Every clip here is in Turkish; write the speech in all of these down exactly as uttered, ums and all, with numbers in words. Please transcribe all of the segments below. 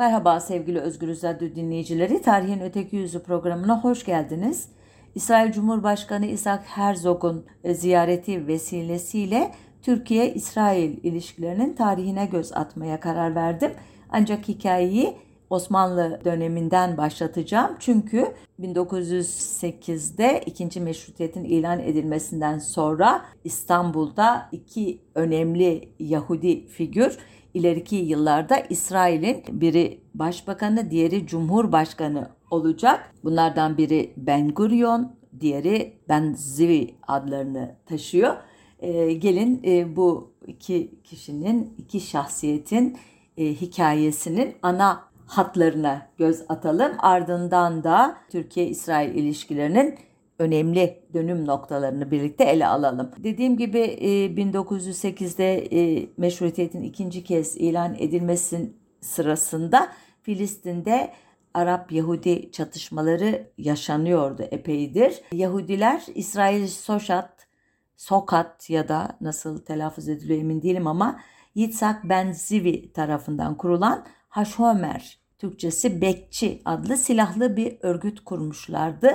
Merhaba sevgili Özgürüz Radyo dinleyicileri, Tarihin Öteki Yüzü programına hoş geldiniz. İsrail Cumhurbaşkanı Isaac Herzog'un ziyareti vesilesiyle Türkiye-İsrail ilişkilerinin tarihine göz atmaya karar verdim. Ancak hikayeyi Osmanlı döneminden başlatacağım. Çünkü bin dokuz yüz sekizde ikinci Meşrutiyet'in ilan edilmesinden sonra İstanbul'da iki önemli Yahudi figür ileriki yıllarda İsrail'in biri başbakanı, diğeri cumhurbaşkanı olacak. Bunlardan biri Ben Gurion, diğeri Ben Zvi adlarını taşıyor. Ee, gelin e, bu iki kişinin, iki şahsiyetin e, hikayesinin ana hatlarına göz atalım. Ardından da Türkiye-İsrail ilişkilerinin önemli dönüm noktalarını birlikte ele alalım. Dediğim gibi bin dokuz yüz sekizde Meşrutiyet'in ikinci kez ilan edilmesi sırasında Filistin'de Arap-Yahudi çatışmaları yaşanıyordu epeydir. Yahudiler İsrail Soşat, Sokat ya da nasıl telaffuz ediliyor emin değilim ama Yitzhak Ben Zvi tarafından kurulan Haşhomer, Türkçesi Bekçi adlı silahlı bir örgüt kurmuşlardı.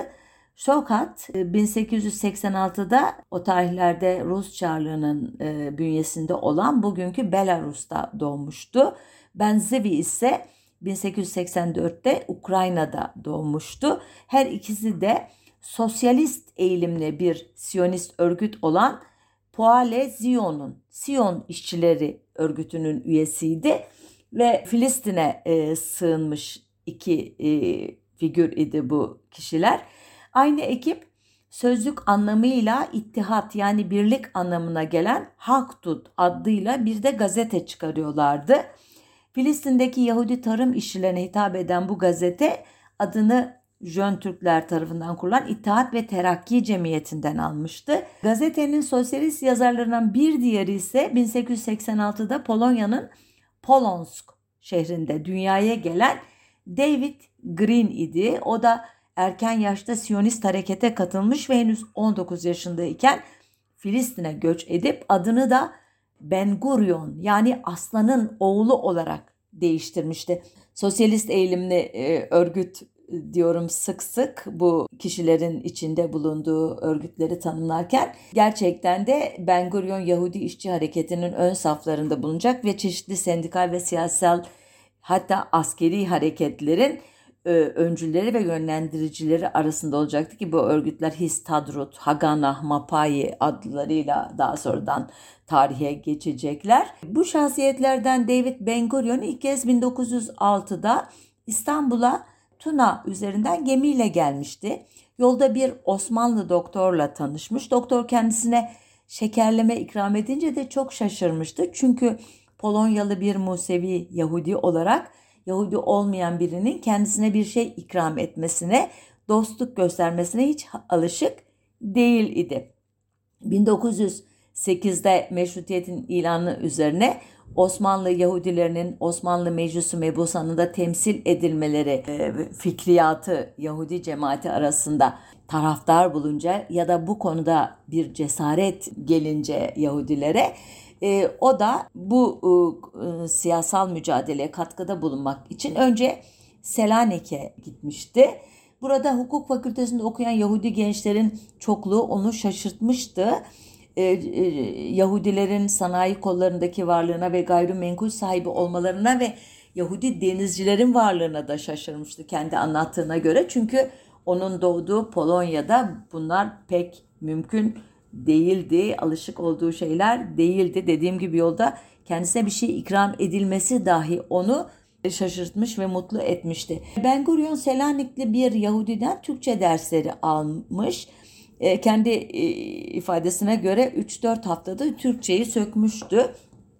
Sokat bin sekiz yüz seksen altıda o tarihlerde Rus Çarlığı'nın bünyesinde olan bugünkü Belarus'ta doğmuştu. Ben Zvi ise bin sekiz yüz seksen dörtte Ukrayna'da doğmuştu. Her ikisi de sosyalist eğilimli bir Siyonist örgüt olan Poale Zion'un, Siyon İşçileri örgütünün üyesiydi ve Filistin'e e, sığınmış iki e, figür idi bu kişiler. Aynı ekip sözlük anlamıyla ittihat yani birlik anlamına gelen Haktut adıyla bir de gazete çıkarıyorlardı. Filistin'deki Yahudi tarım işçilerine hitap eden bu gazete adını Jön Türkler tarafından kurulan İttihat ve Terakki Cemiyeti'nden almıştı. Gazetenin sosyalist yazarlarından bir diğeri ise bin sekiz yüz seksen altıda Polonya'nın Polonsk şehrinde dünyaya gelen David Green idi. O da erken yaşta Siyonist harekete katılmış ve henüz on dokuz yaşındayken Filistin'e göç edip adını da Ben Gurion yani Aslan'ın oğlu olarak değiştirmişti. Sosyalist eğilimli e, örgüt diyorum sık sık bu kişilerin içinde bulunduğu örgütleri tanımlarken gerçekten de Ben Gurion Yahudi İşçi Hareketi'nin ön saflarında bulunacak ve çeşitli sendikal ve siyasal hatta askeri hareketlerin öncüleri ve yönlendiricileri arasında olacaktı ki bu örgütler Histadrut, Haganah, Mapai adlarıyla daha sonradan tarihe geçecekler. Bu şahsiyetlerden David Ben Gurion ilk kez bin dokuz yüz altıda İstanbul'a Tuna üzerinden gemiyle gelmişti. Yolda bir Osmanlı doktorla tanışmış. Doktor kendisine şekerleme ikram edince de çok şaşırmıştı. Çünkü Polonyalı bir Musevi Yahudi olarak Yahudi olmayan birinin kendisine bir şey ikram etmesine, dostluk göstermesine hiç alışık değil idi. bin dokuz yüz sekizde Meşrutiyet'in ilanı üzerine Osmanlı Yahudilerinin Osmanlı Meclis-i Mebusanı'nda temsil edilmeleri fikriyatı Yahudi cemaati arasında taraftar bulunca ya da bu konuda bir cesaret gelince Yahudilere E, o da bu e, siyasal mücadeleye katkıda bulunmak için önce Selanik'e gitmişti. Burada hukuk fakültesinde okuyan Yahudi gençlerin çokluğu onu şaşırtmıştı. E, e, Yahudilerin sanayi kollarındaki varlığına ve gayrimenkul sahibi olmalarına ve Yahudi denizcilerin varlığına da şaşırmıştı kendi anlattığına göre. Çünkü onun doğduğu Polonya'da bunlar pek mümkün değildi, alışık olduğu şeyler değildi. Dediğim gibi yolda kendisine bir şey ikram edilmesi dahi onu şaşırtmış ve mutlu etmişti. Ben Gurion Selanikli bir Yahudiden Türkçe dersleri almış. E, kendi e, ifadesine göre üç dört haftada Türkçeyi sökmüştü.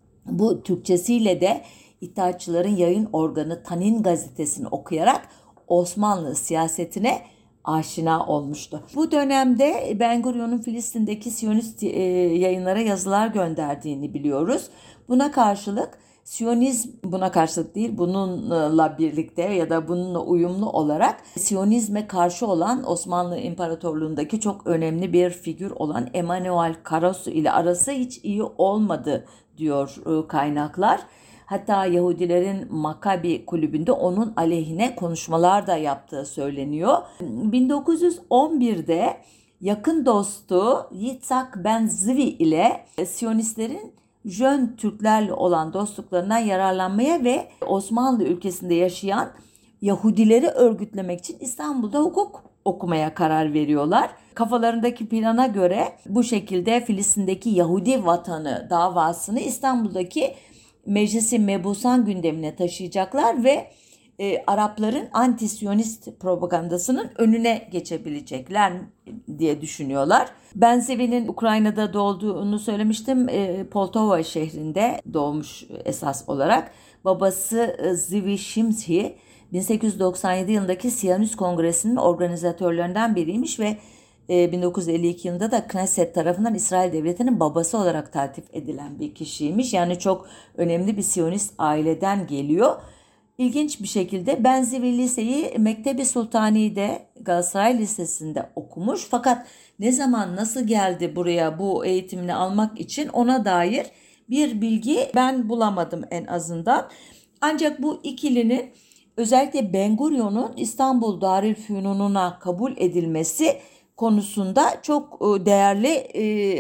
Bu Türkçesiyle de İttihatçıların yayın organı Tanin gazetesini okuyarak Osmanlı siyasetine aşina olmuştu. Bu dönemde Ben Gurion'un Filistin'deki Siyonist e, yayınlara yazılar gönderdiğini biliyoruz. Buna karşılık Siyonizm buna karşılık değil, bununla birlikte ya da bununla uyumlu olarak Siyonizme karşı olan Osmanlı İmparatorluğu'ndaki çok önemli bir figür olan Emanuel Karasu ile arası hiç iyi olmadı diyor kaynaklar. Hatta Yahudilerin Makabi kulübünde onun aleyhine konuşmalar da yaptığı söyleniyor. bin dokuz yüz on birde yakın dostu Yitzhak Ben Zvi ile Siyonistlerin Jön Türklerle olan dostluklarından yararlanmaya ve Osmanlı ülkesinde yaşayan Yahudileri örgütlemek için İstanbul'da hukuk okumaya karar veriyorlar. Kafalarındaki plana göre bu şekilde Filistin'deki Yahudi vatanı davasını İstanbul'daki Meclis-i Mebusan gündemine taşıyacaklar ve e, Arapların anti-Siyonist propagandasının önüne geçebilecekler diye düşünüyorlar. Ben Zevi'nin Ukrayna'da doğduğunu söylemiştim. E, Poltava şehrinde doğmuş esas olarak. Babası e, Zvi Şimşi bin sekiz yüz doksan yedi yılındaki Siyonist Kongresi'nin organizatörlerinden biriymiş ve bin dokuz yüz elli iki yılında da Knesset tarafından İsrail Devleti'nin babası olarak taltif edilen bir kişiymiş. Yani çok önemli bir Siyonist aileden geliyor. İlginç bir şekilde Ben Zvi Liseyi Mektebi Sultani'de Galatasaray Lisesi'nde okumuş. Fakat ne zaman nasıl geldi buraya bu eğitimini almak için ona dair bir bilgi ben bulamadım en azından. Ancak bu ikilinin özellikle Ben Gurion'un İstanbul Darülfünun'una kabul edilmesi konusunda çok değerli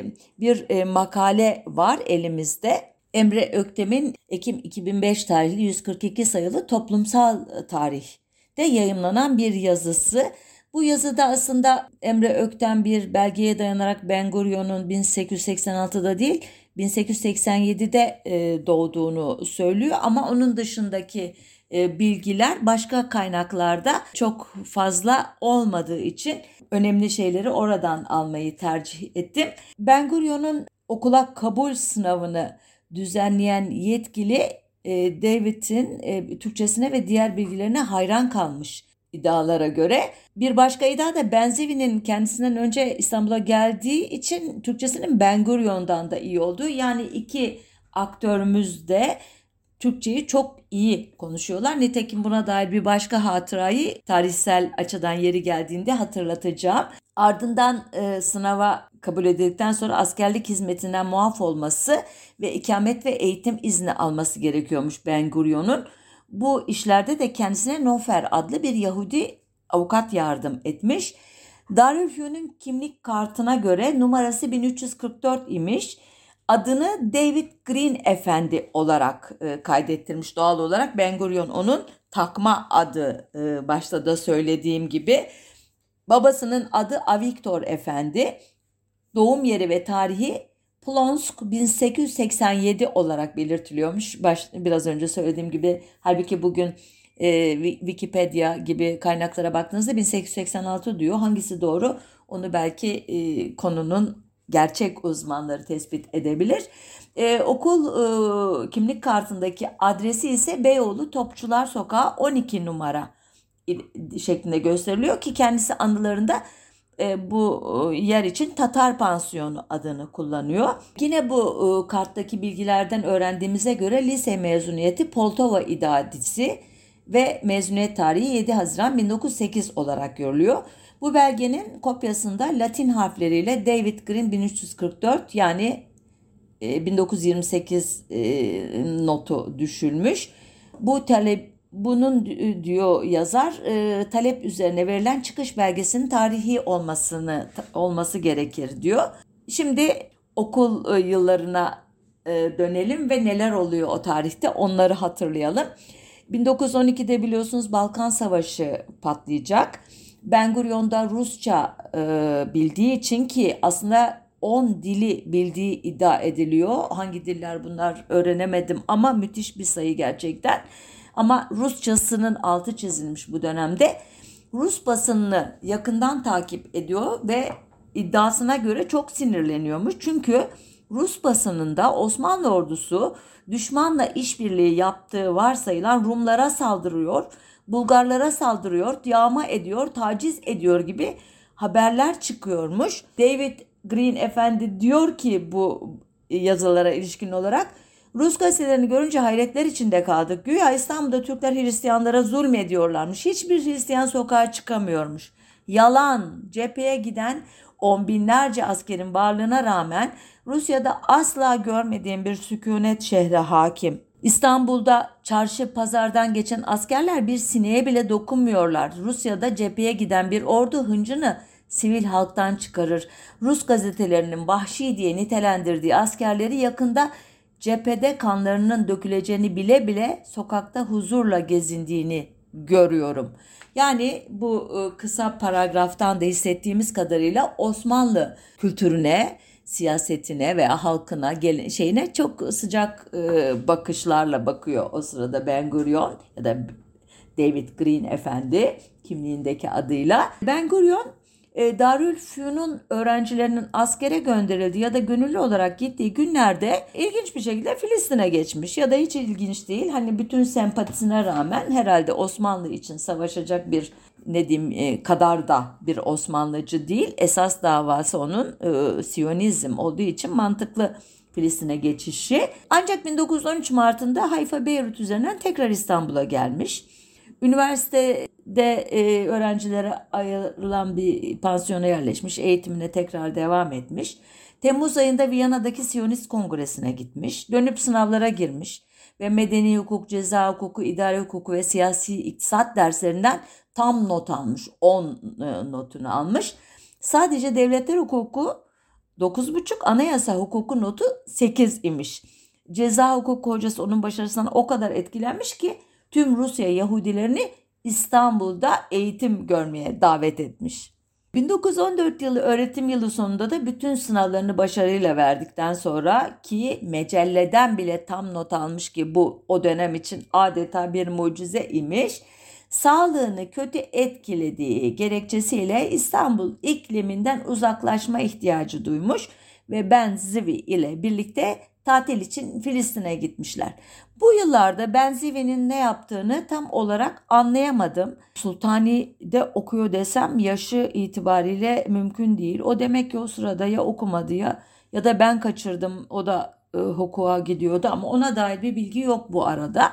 bir makale var elimizde. Emre Öktem'in Ekim iki bin beş tarihli yüz kırk iki sayılı Toplumsal Tarih'te yayımlanan bir yazısı. Bu yazıda aslında Emre Öktem bir belgeye dayanarak Ben Gurion'un bin sekiz yüz seksen altıda değil bin sekiz yüz seksen yedide doğduğunu söylüyor ama onun dışındaki bilgiler başka kaynaklarda çok fazla olmadığı için önemli şeyleri oradan almayı tercih ettim. Ben Gurion'un okula kabul sınavını düzenleyen yetkili David'in Türkçesine ve diğer bilgilerine hayran kalmış iddialara göre. Bir başka iddia da Ben Zevi'nin kendisinden önce İstanbul'a geldiği için Türkçesinin Ben Gurion'dan da iyi olduğu. Yani iki aktörümüz de Türkçeyi çok iyi konuşuyorlar. Nitekim buna dair bir başka hatırayı tarihsel açıdan yeri geldiğinde hatırlatacağım. Ardından e, sınava kabul edildikten sonra askerlik hizmetinden muaf olması ve ikamet ve eğitim izni alması gerekiyormuş Ben Gurion'un. Bu işlerde de kendisine Nofer adlı bir Yahudi avukat yardım etmiş. Darülfünun kimlik kartına göre numarası bin üç yüz kırk dört imiş. Adını David Green Efendi olarak e, kaydettirmiş doğal olarak. Ben Gurion onun takma adı, e, başta da söylediğim gibi. Babasının adı Avigdor Efendi. Doğum yeri ve tarihi Plonsk bin sekiz yüz seksen yedi olarak belirtiliyormuş. Baş, biraz önce söylediğim gibi, halbuki bugün e, Wikipedia gibi kaynaklara baktığınızda bin sekiz yüz seksen altı diyor. Hangisi doğru? Onu belki e, konunun gerçek uzmanları tespit edebilir. Ee, okul e, kimlik kartındaki adresi ise Beyoğlu Topçular Sokağı on iki numara şeklinde gösteriliyor ki kendisi anılarında e, bu e, yer için Tatar Pansiyonu adını kullanıyor. Yine bu e, karttaki bilgilerden öğrendiğimize göre lise mezuniyeti Poltava İdadisi ve mezuniyet tarihi yedi Haziran bin dokuz yüz sekiz olarak görülüyor. Bu belgenin kopyasında Latin harfleriyle David Green bin üç yüz kırk dört yani bin dokuz yüz yirmi sekiz notu düşülmüş. Bu talep, bunun diyor yazar, talep üzerine verilen çıkış belgesinin tarihi olmasını olması gerekir diyor. Şimdi okul yıllarına dönelim ve neler oluyor o tarihte onları hatırlayalım. bin dokuz yüz on ikide biliyorsunuz Balkan Savaşı patlayacak. Ben Gurion da Rusça e, bildiği için, ki aslında on dili bildiği iddia ediliyor. Hangi diller bunlar öğrenemedim ama müthiş bir sayı gerçekten. Ama Rusçasının altı çizilmiş bu dönemde. Rus basınını yakından takip ediyor ve iddiasına göre çok sinirleniyormuş. Çünkü Rus basınında Osmanlı ordusu düşmanla işbirliği yaptığı varsayılan Rumlara saldırıyor, Bulgarlara saldırıyor, yağma ediyor, taciz ediyor gibi haberler çıkıyormuş. David Green Efendi diyor ki bu yazılara ilişkin olarak, Rus gazetelerini görünce hayretler içinde kaldık. Güya İstanbul'da Türkler Hristiyanlara zulmediyorlarmış. Hiçbir Hristiyan sokağa çıkamıyormuş. Yalan. Cepheye giden on binlerce askerin varlığına rağmen Rusya'da asla görmediğim bir sükunet şehre hakim. İstanbul'da çarşı pazardan geçen askerler bir sineğe bile dokunmuyorlar. Rusya'da cepheye giden bir ordu hıncını sivil halktan çıkarır. Rus gazetelerinin vahşi diye nitelendirdiği askerleri yakında cephede kanlarının döküleceğini bile bile sokakta huzurla gezindiğini görüyorum. Yani bu kısa paragraftan da hissettiğimiz kadarıyla Osmanlı kültürüne, siyasetine veya halkına, gel- şeyine çok sıcak e, bakışlarla bakıyor o sırada Ben Gurion ya da David Green Efendi kimliğindeki adıyla. Ben Gurion e, Darülfünun öğrencilerinin askere gönderildiği ya da gönüllü olarak gittiği günlerde ilginç bir şekilde Filistin'e geçmiş ya da hiç ilginç değil. Hani bütün sempatisine rağmen herhalde Osmanlı için savaşacak bir ne diyeyim e, kadar da bir Osmanlıcı değil. Esas davası onun e, Siyonizm olduğu için mantıklı Filistin'e geçişi. Ancak bin dokuz yüz on üç Mart'ında Hayfa Beyrut üzerinden tekrar İstanbul'a gelmiş. Üniversitede e, öğrencilere ayrılan bir pansiyona yerleşmiş, eğitimine tekrar devam etmiş. Temmuz ayında Viyana'daki Siyonist Kongresi'ne gitmiş, dönüp sınavlara girmiş ve medeni hukuk, ceza hukuku, idare hukuku ve siyasi iktisat derslerinden tam not almış, on notunu almış. Sadece devletler hukuku dokuz buçuk, anayasa hukuku notu sekiz imiş. Ceza hukuku hocası onun başarısından o kadar etkilenmiş ki tüm Rusya Yahudilerini İstanbul'da eğitim görmeye davet etmiş. bin dokuz yüz on dört yılı öğretim yılı sonunda da bütün sınavlarını başarıyla verdikten sonra ki Mecelle'den bile tam not almış ki bu o dönem için adeta bir mucize imiş. Sağlığını kötü etkilediği gerekçesiyle İstanbul ikliminden uzaklaşma ihtiyacı duymuş ve Ben Zivi ile birlikte tatil için Filistin'e gitmişler. Bu yıllarda Ben Zivi'nin ne yaptığını tam olarak anlayamadım. Sultani'de okuyor desem yaşı itibariyle mümkün değil. O demek ki o sırada ya okumadı ya ya da ben kaçırdım. O da e, hukuka gidiyordu ama ona dair bir bilgi yok bu arada.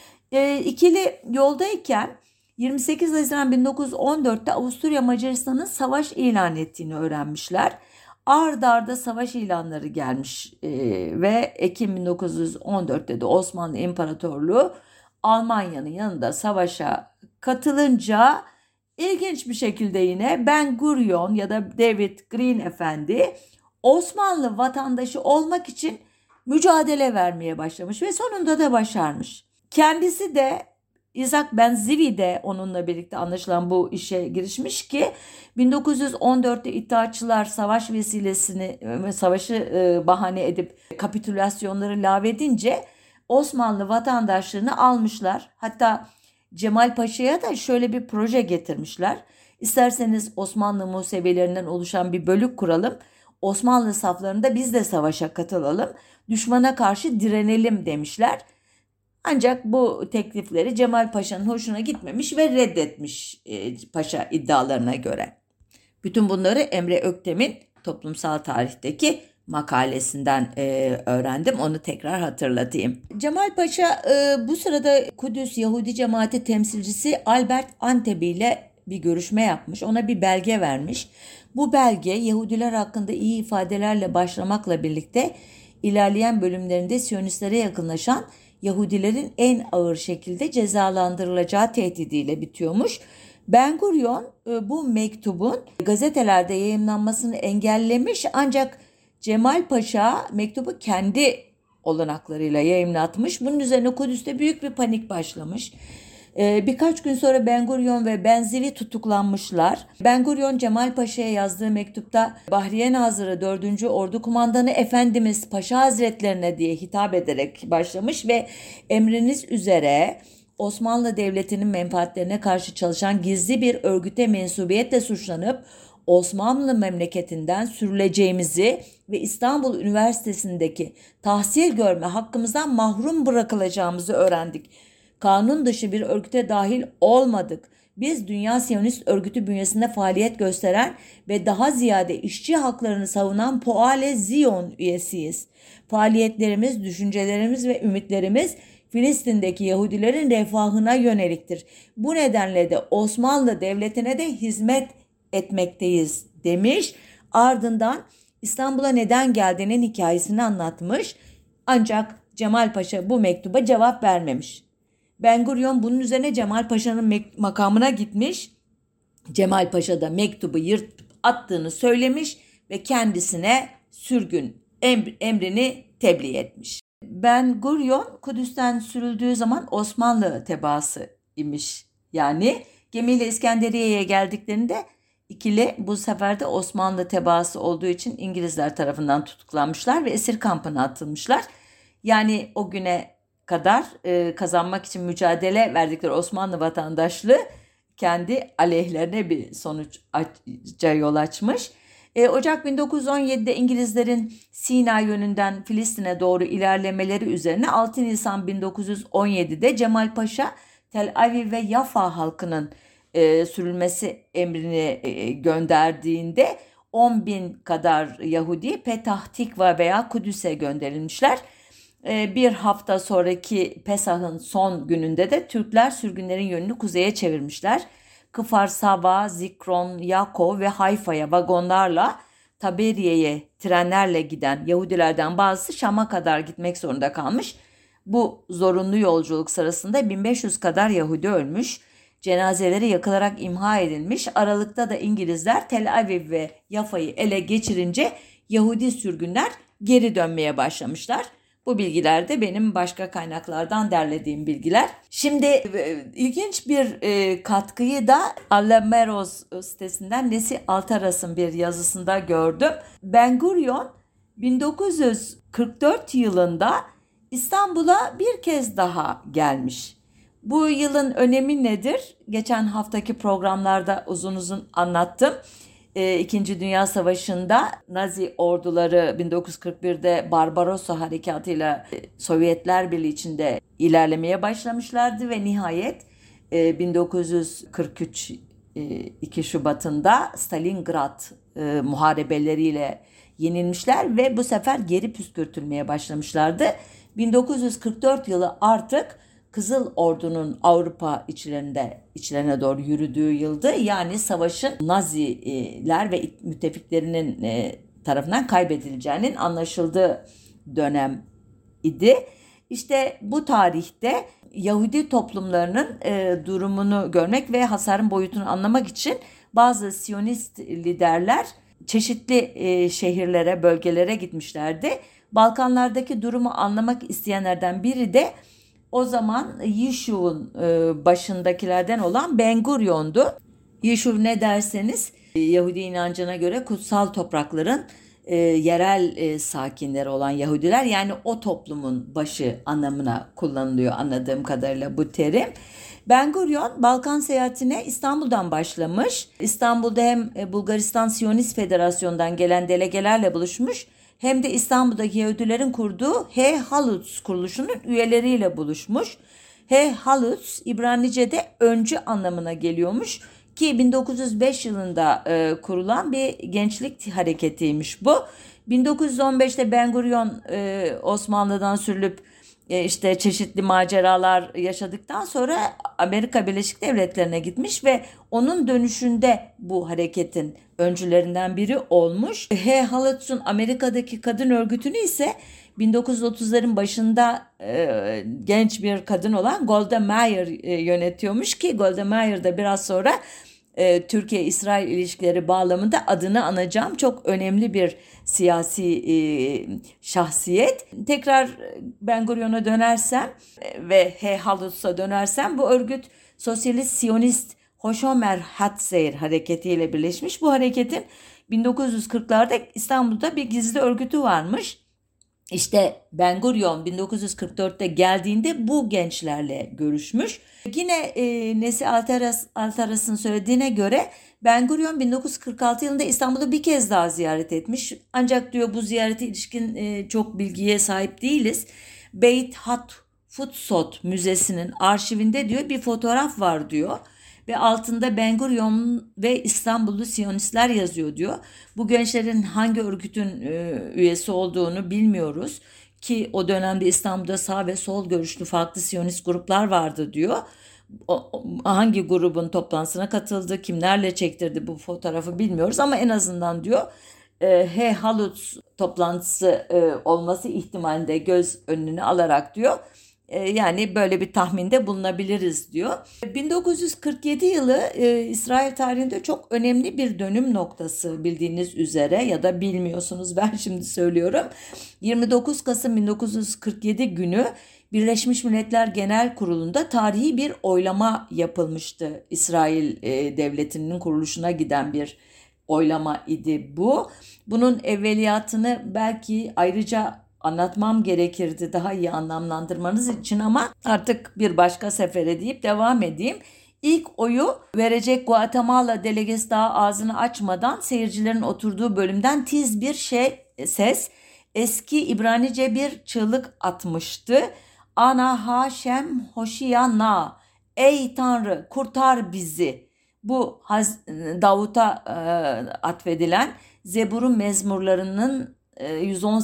E, ikili yoldayken yirmi sekiz Haziran bin dokuz yüz on dörtte Avusturya Macaristan'ın savaş ilan ettiğini öğrenmişler. Ard arda savaş ilanları gelmiş e, ve Ekim bin dokuz yüz on dörtte de Osmanlı İmparatorluğu Almanya'nın yanında savaşa katılınca ilginç bir şekilde yine Ben Gurion ya da David Green Efendi Osmanlı vatandaşı olmak için mücadele vermeye başlamış ve sonunda da başarmış. Kendisi de İshak Ben Zivi de onunla birlikte anlaşılan bu işe girişmiş ki bin dokuz yüz on dörtte İttihatçılar savaş vesilesini savaşı bahane edip kapitülasyonları lağvedince Osmanlı vatandaşlığını almışlar. Hatta Cemal Paşa'ya da şöyle bir proje getirmişler. İsterseniz Osmanlı Musevilerinden oluşan bir bölük kuralım. Osmanlı saflarında biz de savaşa katılalım. Düşmana karşı direnelim demişler. Ancak bu teklifleri Cemal Paşa'nın hoşuna gitmemiş ve reddetmiş e, paşa iddialarına göre. Bütün bunları Emre Öktem'in Toplumsal Tarih'teki makalesinden e, öğrendim. Onu tekrar hatırlatayım. Cemal Paşa e, bu sırada Kudüs Yahudi Cemaati temsilcisi Albert Antebi ile bir görüşme yapmış. Ona bir belge vermiş. Bu belge Yahudiler hakkında iyi ifadelerle başlamakla birlikte ilerleyen bölümlerinde Siyonistlere yakınlaşan Yahudilerin en ağır şekilde cezalandırılacağı tehdidiyle bitiyormuş. Ben Gurion bu mektubun gazetelerde yayımlanmasını engellemiş ancak Cemal Paşa mektubu kendi olanaklarıyla yayımlatmış. Bunun üzerine Kudüs'te büyük bir panik başlamış. Birkaç gün sonra Ben Gurion ve Ben Zivi tutuklanmışlar. Ben Gurion Cemal Paşa'ya yazdığı mektupta Bahriye Nazırı dördüncü Ordu Kumandanı Efendimiz Paşa Hazretlerine diye hitap ederek başlamış ve emriniz üzere Osmanlı Devleti'nin menfaatlerine karşı çalışan gizli bir örgüte mensubiyetle suçlanıp Osmanlı memleketinden sürüleceğimizi ve İstanbul Üniversitesi'ndeki tahsil görme hakkımızdan mahrum bırakılacağımızı öğrendik. Kanun dışı bir örgüte dahil olmadık. Biz Dünya Siyonist Örgütü bünyesinde faaliyet gösteren ve daha ziyade işçi haklarını savunan Poale Zion üyesiyiz. Faaliyetlerimiz, düşüncelerimiz ve ümitlerimiz Filistin'deki Yahudilerin refahına yöneliktir. Bu nedenle de Osmanlı Devleti'ne de hizmet etmekteyiz demiş. Ardından İstanbul'a neden geldiğinin hikayesini anlatmış. Ancak Cemal Paşa bu mektuba cevap vermemiş. Ben Gurion bunun üzerine Cemal Paşa'nın mek- makamına gitmiş. Cemal Paşa da mektubu yırtıp attığını söylemiş ve kendisine sürgün emr- emrini tebliğ etmiş. Ben Gurion Kudüs'ten sürüldüğü zaman Osmanlı tebaası imiş. Yani gemiyle İskenderiye'ye geldiklerinde ikili bu sefer de Osmanlı tebaası olduğu için İngilizler tarafından tutuklanmışlar ve esir kampına atılmışlar. Yani o güne kadar e, kazanmak için mücadele verdikleri Osmanlı vatandaşlığı kendi aleyhlerine bir sonuca yol açmış. E, Ocak bin dokuz yüz on yedide İngilizlerin Sina yönünden Filistin'e doğru ilerlemeleri üzerine altı Nisan bin dokuz yüz on yedide Cemal Paşa Tel Aviv ve Yafa halkının e, sürülmesi emrini e, gönderdiğinde on bin kadar Yahudi Petah Tikva veya Kudüs'e gönderilmişler. E, bir hafta sonraki Pesah'ın son gününde de Türkler sürgünlerin yönünü kuzeye çevirmişler. Kıfar Saba, Zikron, Yakov ve Hayfa'ya vagonlarla Taberiye'ye trenlerle giden Yahudilerden bazısı Şam'a kadar gitmek zorunda kalmış. Bu zorunlu yolculuk sırasında bin beş yüz kadar Yahudi ölmüş. Cenazeleri yakılarak imha edilmiş. Aralıkta da İngilizler Tel Aviv ve Yafa'yı ele geçirince Yahudi sürgünler geri dönmeye başlamışlar. Bu bilgiler de benim başka kaynaklardan derlediğim bilgiler. Şimdi e, ilginç bir e, katkıyı da Alameros sitesinden Nesi Altaras'ın bir yazısında gördüm. Ben Gurion bin dokuz yüz kırk dört yılında İstanbul'a bir kez daha gelmiş. Bu yılın önemi nedir? Geçen haftaki programlarda uzun uzun anlattım. İkinci Dünya Savaşı'nda Nazi orduları bin dokuz yüz kırk birde Barbarossa harekatıyla Sovyetler Birliği içinde ilerlemeye başlamışlardı ve nihayet bin dokuz yüz kırk üç iki Şubat'ında Stalingrad muharebeleriyle yenilmişler ve bu sefer geri püskürtülmeye başlamışlardı. bin dokuz yüz kırk dört yılı artık Kızıl Ordu'nun Avrupa içlerinde içlerine doğru yürüdüğü yıldı. Yani savaşın Naziler ve müttefiklerinin tarafından kaybedileceğinin anlaşıldığı dönem idi. İşte bu tarihte Yahudi toplumlarının durumunu görmek ve hasarın boyutunu anlamak için bazı Siyonist liderler çeşitli şehirlere, bölgelere gitmişlerdi. Balkanlardaki durumu anlamak isteyenlerden biri de o zaman Yişuv'un başındakilerden olan Ben Gurion'du. Yişuv ne derseniz Yahudi inancına göre kutsal toprakların e, yerel e, sakinleri olan Yahudiler, yani o toplumun başı anlamına kullanılıyor anladığım kadarıyla bu terim. Ben Gurion Balkan seyahatine İstanbul'dan başlamış. İstanbul'da hem Bulgaristan Siyonist Federasyonu'ndan gelen delegelerle buluşmuş, hem de İstanbul'daki Yahudilerin kurduğu He Halutz kuruluşunun üyeleriyle buluşmuş. He Halutz İbranice'de öncü anlamına geliyormuş ki bin dokuz yüz beş yılında e, kurulan bir gençlik hareketiymiş bu. bin dokuz yüz on beşte Ben Gurion e, Osmanlı'dan sürülüp e, işte çeşitli maceralar yaşadıktan sonra Amerika Birleşik Devletleri'ne gitmiş ve onun dönüşünde bu hareketin öncülerinden biri olmuş. He Halutz'un Amerika'daki kadın örgütünü ise bin dokuz yüz otuzların başında e, genç bir kadın olan Golda Meir e, yönetiyormuş ki Golda Meir de biraz sonra e, Türkiye-İsrail ilişkileri bağlamında adını anacağım çok önemli bir siyasi e, şahsiyet. Tekrar Ben Gurion'a dönersem e, ve He Halutz'a dönersem bu örgüt Sosyalist Siyonist Hoşomer Hatzeir hareketiyle birleşmiş. Bu hareketin bin dokuz yüz kırklarda İstanbul'da bir gizli örgütü varmış. İşte Ben Gurion bin dokuz yüz kırk dörtte geldiğinde bu gençlerle görüşmüş. Yine e, Nesi Altaras, Altaras'ın söylediğine göre Ben Gurion bin dokuz yüz kırk altı yılında İstanbul'u bir kez daha ziyaret etmiş. Ancak diyor bu ziyarete ilişkin e, çok bilgiye sahip değiliz. Beit Hatfutsot Müzesi'nin arşivinde diyor bir fotoğraf var diyor. Ve altında Ben Gurion ve İstanbullu Siyonistler yazıyor diyor. Bu gençlerin hangi örgütün e, üyesi olduğunu bilmiyoruz. Ki o dönemde İstanbul'da sağ ve sol görüşlü farklı Siyonist gruplar vardı diyor. O, hangi grubun toplantısına katıldı, kimlerle çektirdi bu fotoğrafı bilmiyoruz ama en azından diyor e, He Halutz toplantısı e, olması ihtimalinde göz önüne alarak diyor. E, yani böyle bir tahminde bulunabiliriz diyor. bin dokuz yüz kırk yedi yılı e, İsrail tarihinde çok önemli bir dönüm noktası bildiğiniz üzere, ya da bilmiyorsunuz, ben şimdi söylüyorum. yirmi dokuz Kasım bin dokuz yüz kırk yedi günü Birleşmiş Milletler Genel Kurulu'nda tarihi bir oylama yapılmıştı. İsrail e, Devleti'nin kuruluşuna giden bir oylama idi bu. Bunun evveliyatını belki ayrıca anlatmam gerekirdi daha iyi anlamlandırmanız için, ama artık bir başka sefere deyip devam edeyim. İlk oyu verecek Guatemala delegesi daha ağzını açmadan seyircilerin oturduğu bölümden tiz bir şey ses, eski İbranice bir çığlık atmıştı. Ana Haşem Hoşiyana, ey Tanrı kurtar bizi. Bu Davut'a e, atfedilen Zebur'un mezmurlarının e, yüz on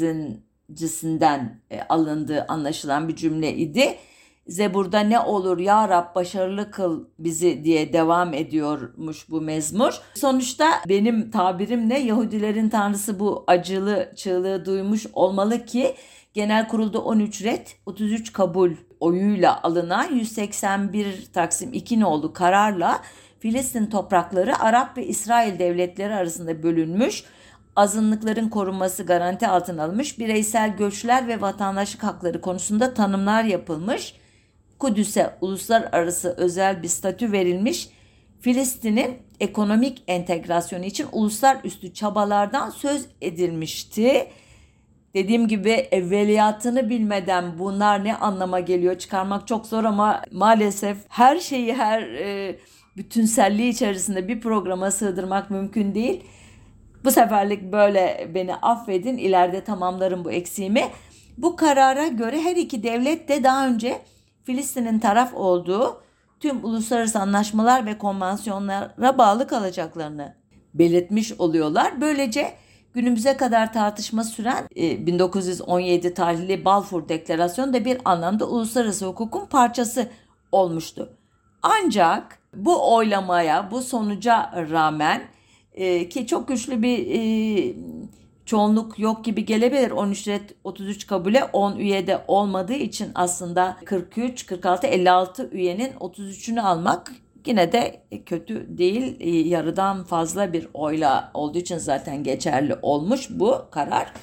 sekizincisinden e, alındığı anlaşılan bir cümle idi. Zebur'da ne olur ya Rab başarılı kıl bizi diye devam ediyormuş bu mezmur. Sonuçta benim tabirimle Yahudilerin tanrısı bu acılı çığlığı duymuş olmalı ki Genel Kurulda on üç red, otuz üç kabul oyuyla alınan yüz seksen bir Taksim iki nolu kararla Filistin toprakları Arap ve İsrail devletleri arasında bölünmüş, azınlıkların korunması garanti altına alınmış, bireysel göçler ve vatandaşlık hakları konusunda tanımlar yapılmış, Kudüs'e uluslararası özel bir statü verilmiş, Filistin'in ekonomik entegrasyonu için uluslararası çabalardan söz edilmişti. Dediğim gibi evveliyatını bilmeden bunlar ne anlama geliyor çıkarmak çok zor, ama maalesef her şeyi her e, bütünselliği içerisinde bir programa sığdırmak mümkün değil. Bu seferlik böyle beni affedin, ileride tamamlarım bu eksiğimi. Bu karara göre her iki devlet de daha önce Filistin'in taraf olduğu tüm uluslararası anlaşmalar ve konvansiyonlara bağlı kalacaklarını belirtmiş oluyorlar. Böylece günümüze kadar tartışma süren e, bin dokuz yüz on yedi tarihli Balfour Deklarasyonu da bir anlamda uluslararası hukukun parçası olmuştu. Ancak bu oylamaya, bu sonuca rağmen e, ki çok güçlü bir e, çoğunluk yok gibi gelebilir. on üç red, otuz üç kabule, on üyede olmadığı için aslında kırk üç, kırk altı, elli altı üyenin otuz üçünü almak yine de kötü değil. Yarıdan fazla bir oyla olduğu için zaten geçerli olmuş bu karar.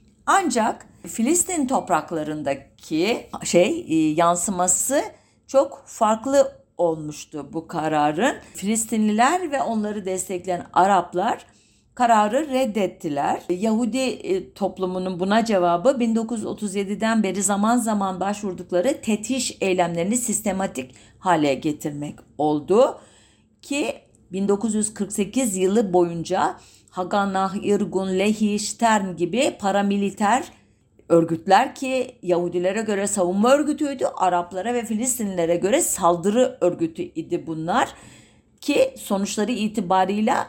Ancak Filistin topraklarındaki şey yansıması çok farklı olmuştu bu kararın. Filistinliler ve onları destekleyen Araplar kararı reddettiler. Yahudi toplumunun buna cevabı bin dokuz yüz otuz yediden beri zaman zaman başvurdukları tetiş eylemlerini sistematik hale getirmek oldu ki bin dokuz yüz kırk sekiz yılı boyunca Haganah, Irgun, Lehi, Stern gibi paramiliter örgütler ki Yahudilere göre savunma örgütüydü, Araplara ve Filistinlilere göre saldırı örgütü idi bunlar ki sonuçları itibarıyla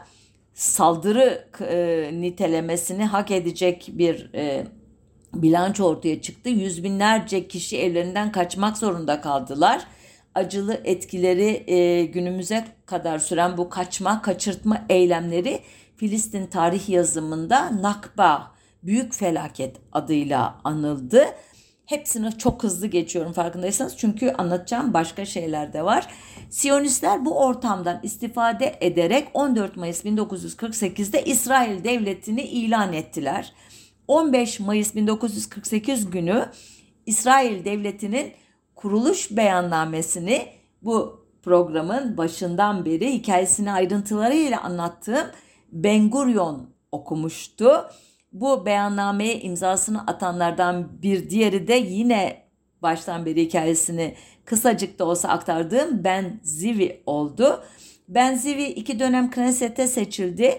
saldırı e, nitelemesini hak edecek bir e, bilanço ortaya çıktı. Yüz binlerce kişi evlerinden kaçmak zorunda kaldılar. Acılı etkileri e, günümüze kadar süren bu kaçma, kaçırtma eylemleri Filistin tarih yazımında Nakba, büyük felaket adıyla anıldı. Hepsini çok hızlı geçiyorum farkındaysanız, çünkü anlatacağım başka şeyler de var. Siyonistler bu ortamdan istifade ederek on dört Mayıs bin dokuz yüz kırk sekizde İsrail Devleti'ni ilan ettiler. on beş Mayıs bin dokuz yüz kırk sekiz günü İsrail Devleti'nin kuruluş beyannamesini, bu programın başından beri hikayesini ayrıntılarıyla anlattığım Ben Gurion okumuştu. Bu beyannameye imzasını atanlardan bir diğeri de yine baştan beri hikayesini kısacık da olsa aktardığım Ben Zivi oldu. Ben Zivi iki dönem Knesset'e seçildi.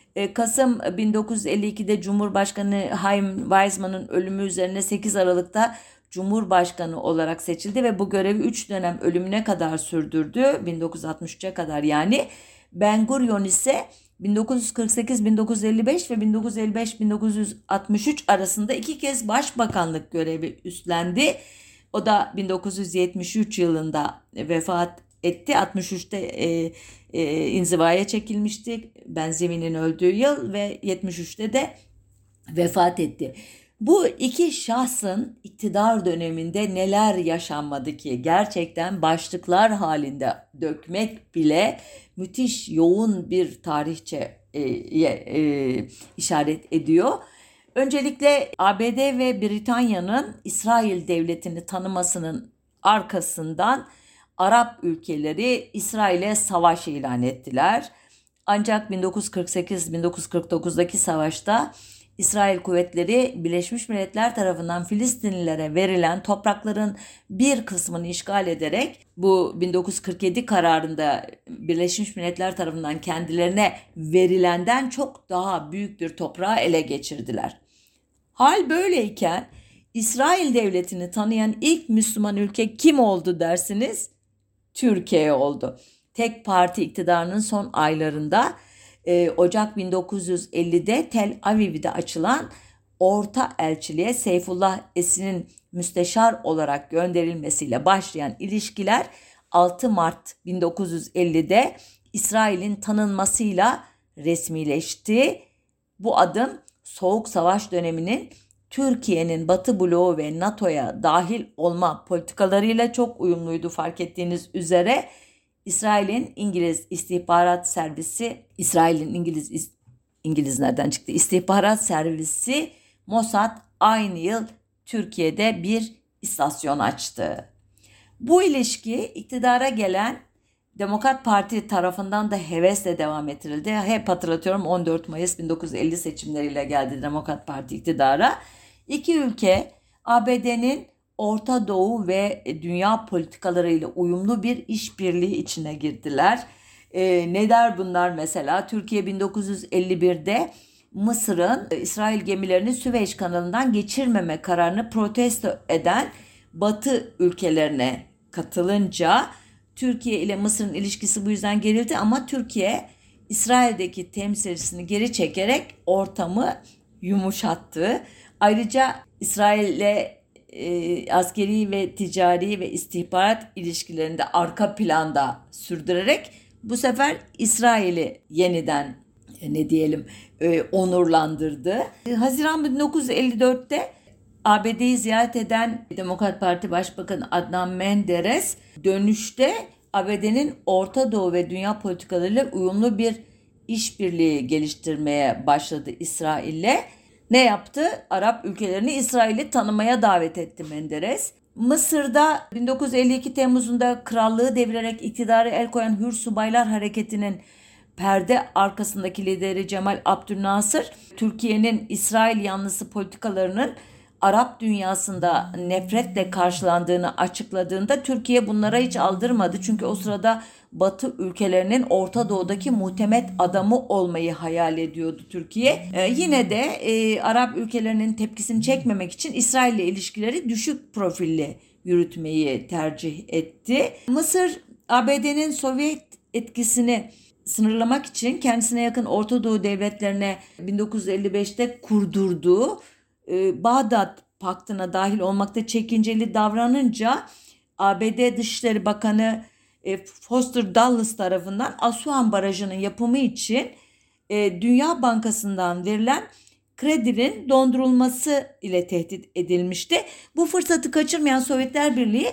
Kasım bin dokuz yüz elli ikide Cumhurbaşkanı Chaim Weizmann'ın ölümü üzerine sekiz Aralık'ta Cumhurbaşkanı olarak seçildi ve bu görevi üç dönem ölümüne kadar sürdürdü. bin dokuz yüz altmış üçe kadar yani. Ben Gurion ise bin dokuz yüz kırk sekiz bin dokuz yüz elli beş ve bin dokuz yüz elli beş bin dokuz yüz altmış üç arasında iki kez başbakanlık görevi üstlendi. O da bin dokuz yüz yetmiş üç yılında vefat etti. altmış üçte e, e, inzivaya çekilmişti. Benjamin'in öldüğü yıl ve yetmiş üçte de vefat etti. Bu iki şahsın iktidar döneminde neler yaşanmadı ki gerçekten başlıklar halinde dökmek bile müthiş yoğun bir tarihçe e, e, işaret ediyor. Öncelikle A B D ve Britanya'nın İsrail devletini tanımasının arkasından Arap ülkeleri İsrail'e savaş ilan ettiler. Ancak bin dokuz yüz kırk sekiz bin dokuz yüz kırk dokuzdaki savaşta İsrail kuvvetleri Birleşmiş Milletler tarafından Filistinlilere verilen toprakların bir kısmını işgal ederek bu bin dokuz yüz kırk yedi kararında Birleşmiş Milletler tarafından kendilerine verilenden çok daha büyük bir toprağı ele geçirdiler. Hal böyleyken İsrail devletini tanıyan ilk Müslüman ülke kim oldu dersiniz? Türkiye oldu. Tek parti iktidarının son aylarında e, Ocak bin dokuz yüz ellide Tel Aviv'de açılan Orta Elçiliğe Seyfullah Esin'in müsteşar olarak gönderilmesiyle başlayan ilişkiler altı Mart bin dokuz yüz ellide İsrail'in tanınmasıyla resmileşti. Bu adım Soğuk Savaş döneminin Türkiye'nin Batı bloğu ve NATO'ya dahil olma politikalarıyla çok uyumluydu fark ettiğiniz üzere. İsrail'in İngiliz istihbarat servisi, İsrail'in İngiliz İngiliz nereden çıktı? İstihbarat servisi Mossad aynı yıl Türkiye'de bir istasyon açtı. Bu ilişki iktidara gelen Demokrat Parti tarafından da hevesle devam ettirildi. Hep hatırlatıyorum, on dört Mayıs bin dokuz yüz elli seçimleriyle geldi Demokrat Parti iktidara. İki ülke A B D'nin Orta Doğu ve dünya politikalarıyla uyumlu bir işbirliği içine girdiler. Ee, ne der bunlar mesela? Türkiye bin dokuz yüz elli birde Mısır'ın İsrail gemilerini Süveyş kanalından geçirmeme kararını protesto eden Batı ülkelerine katılınca Türkiye ile Mısır'ın ilişkisi bu yüzden gerildi ama Türkiye İsrail'deki temsilcisini geri çekerek ortamı yumuşattı. Ayrıca İsrail'le e, askeri ve ticari ve istihbarat ilişkilerinde arka planda sürdürerek bu sefer İsrail'i yeniden e, ne diyelim e, onurlandırdı. E, Haziran bin dokuz yüz elli dörtte A B D'yi ziyaret eden Demokrat Parti Başbakanı Adnan Menderes dönüşte A B D'nin Orta Doğu ve dünya politikalarıyla uyumlu bir işbirliği geliştirmeye başladı İsrail'le. Ne yaptı? Arap ülkelerini İsrail'i tanımaya davet etti Menderes. Mısır'da bin dokuz yüz elli iki Temmuz'unda krallığı devirerek iktidara el koyan Hür Subaylar Hareketi'nin perde arkasındaki lideri Cemal Abdülnasır, Türkiye'nin İsrail yanlısı politikalarının Arap dünyasında nefretle karşılandığını açıkladığında Türkiye bunlara hiç aldırmadı. Çünkü o sırada Batı ülkelerinin Orta Doğu'daki muhtemet adamı olmayı hayal ediyordu Türkiye. Ee, yine de e, Arap ülkelerinin tepkisini çekmemek için İsrail ile ilişkileri düşük profilli yürütmeyi tercih etti. Mısır, A B D'nin Sovyet etkisini sınırlamak için kendisine yakın Orta Doğu devletlerine bin dokuz yüz elli beşte kurdurduğu e, Bağdat Paktı'na dahil olmakta çekinceli davranınca A B D Dışişleri Bakanı e, Foster Dulles tarafından Assuan Barajı'nın yapımı için e, Dünya Bankası'ndan verilen kredinin dondurulması ile tehdit edilmişti. Bu fırsatı kaçırmayan Sovyetler Birliği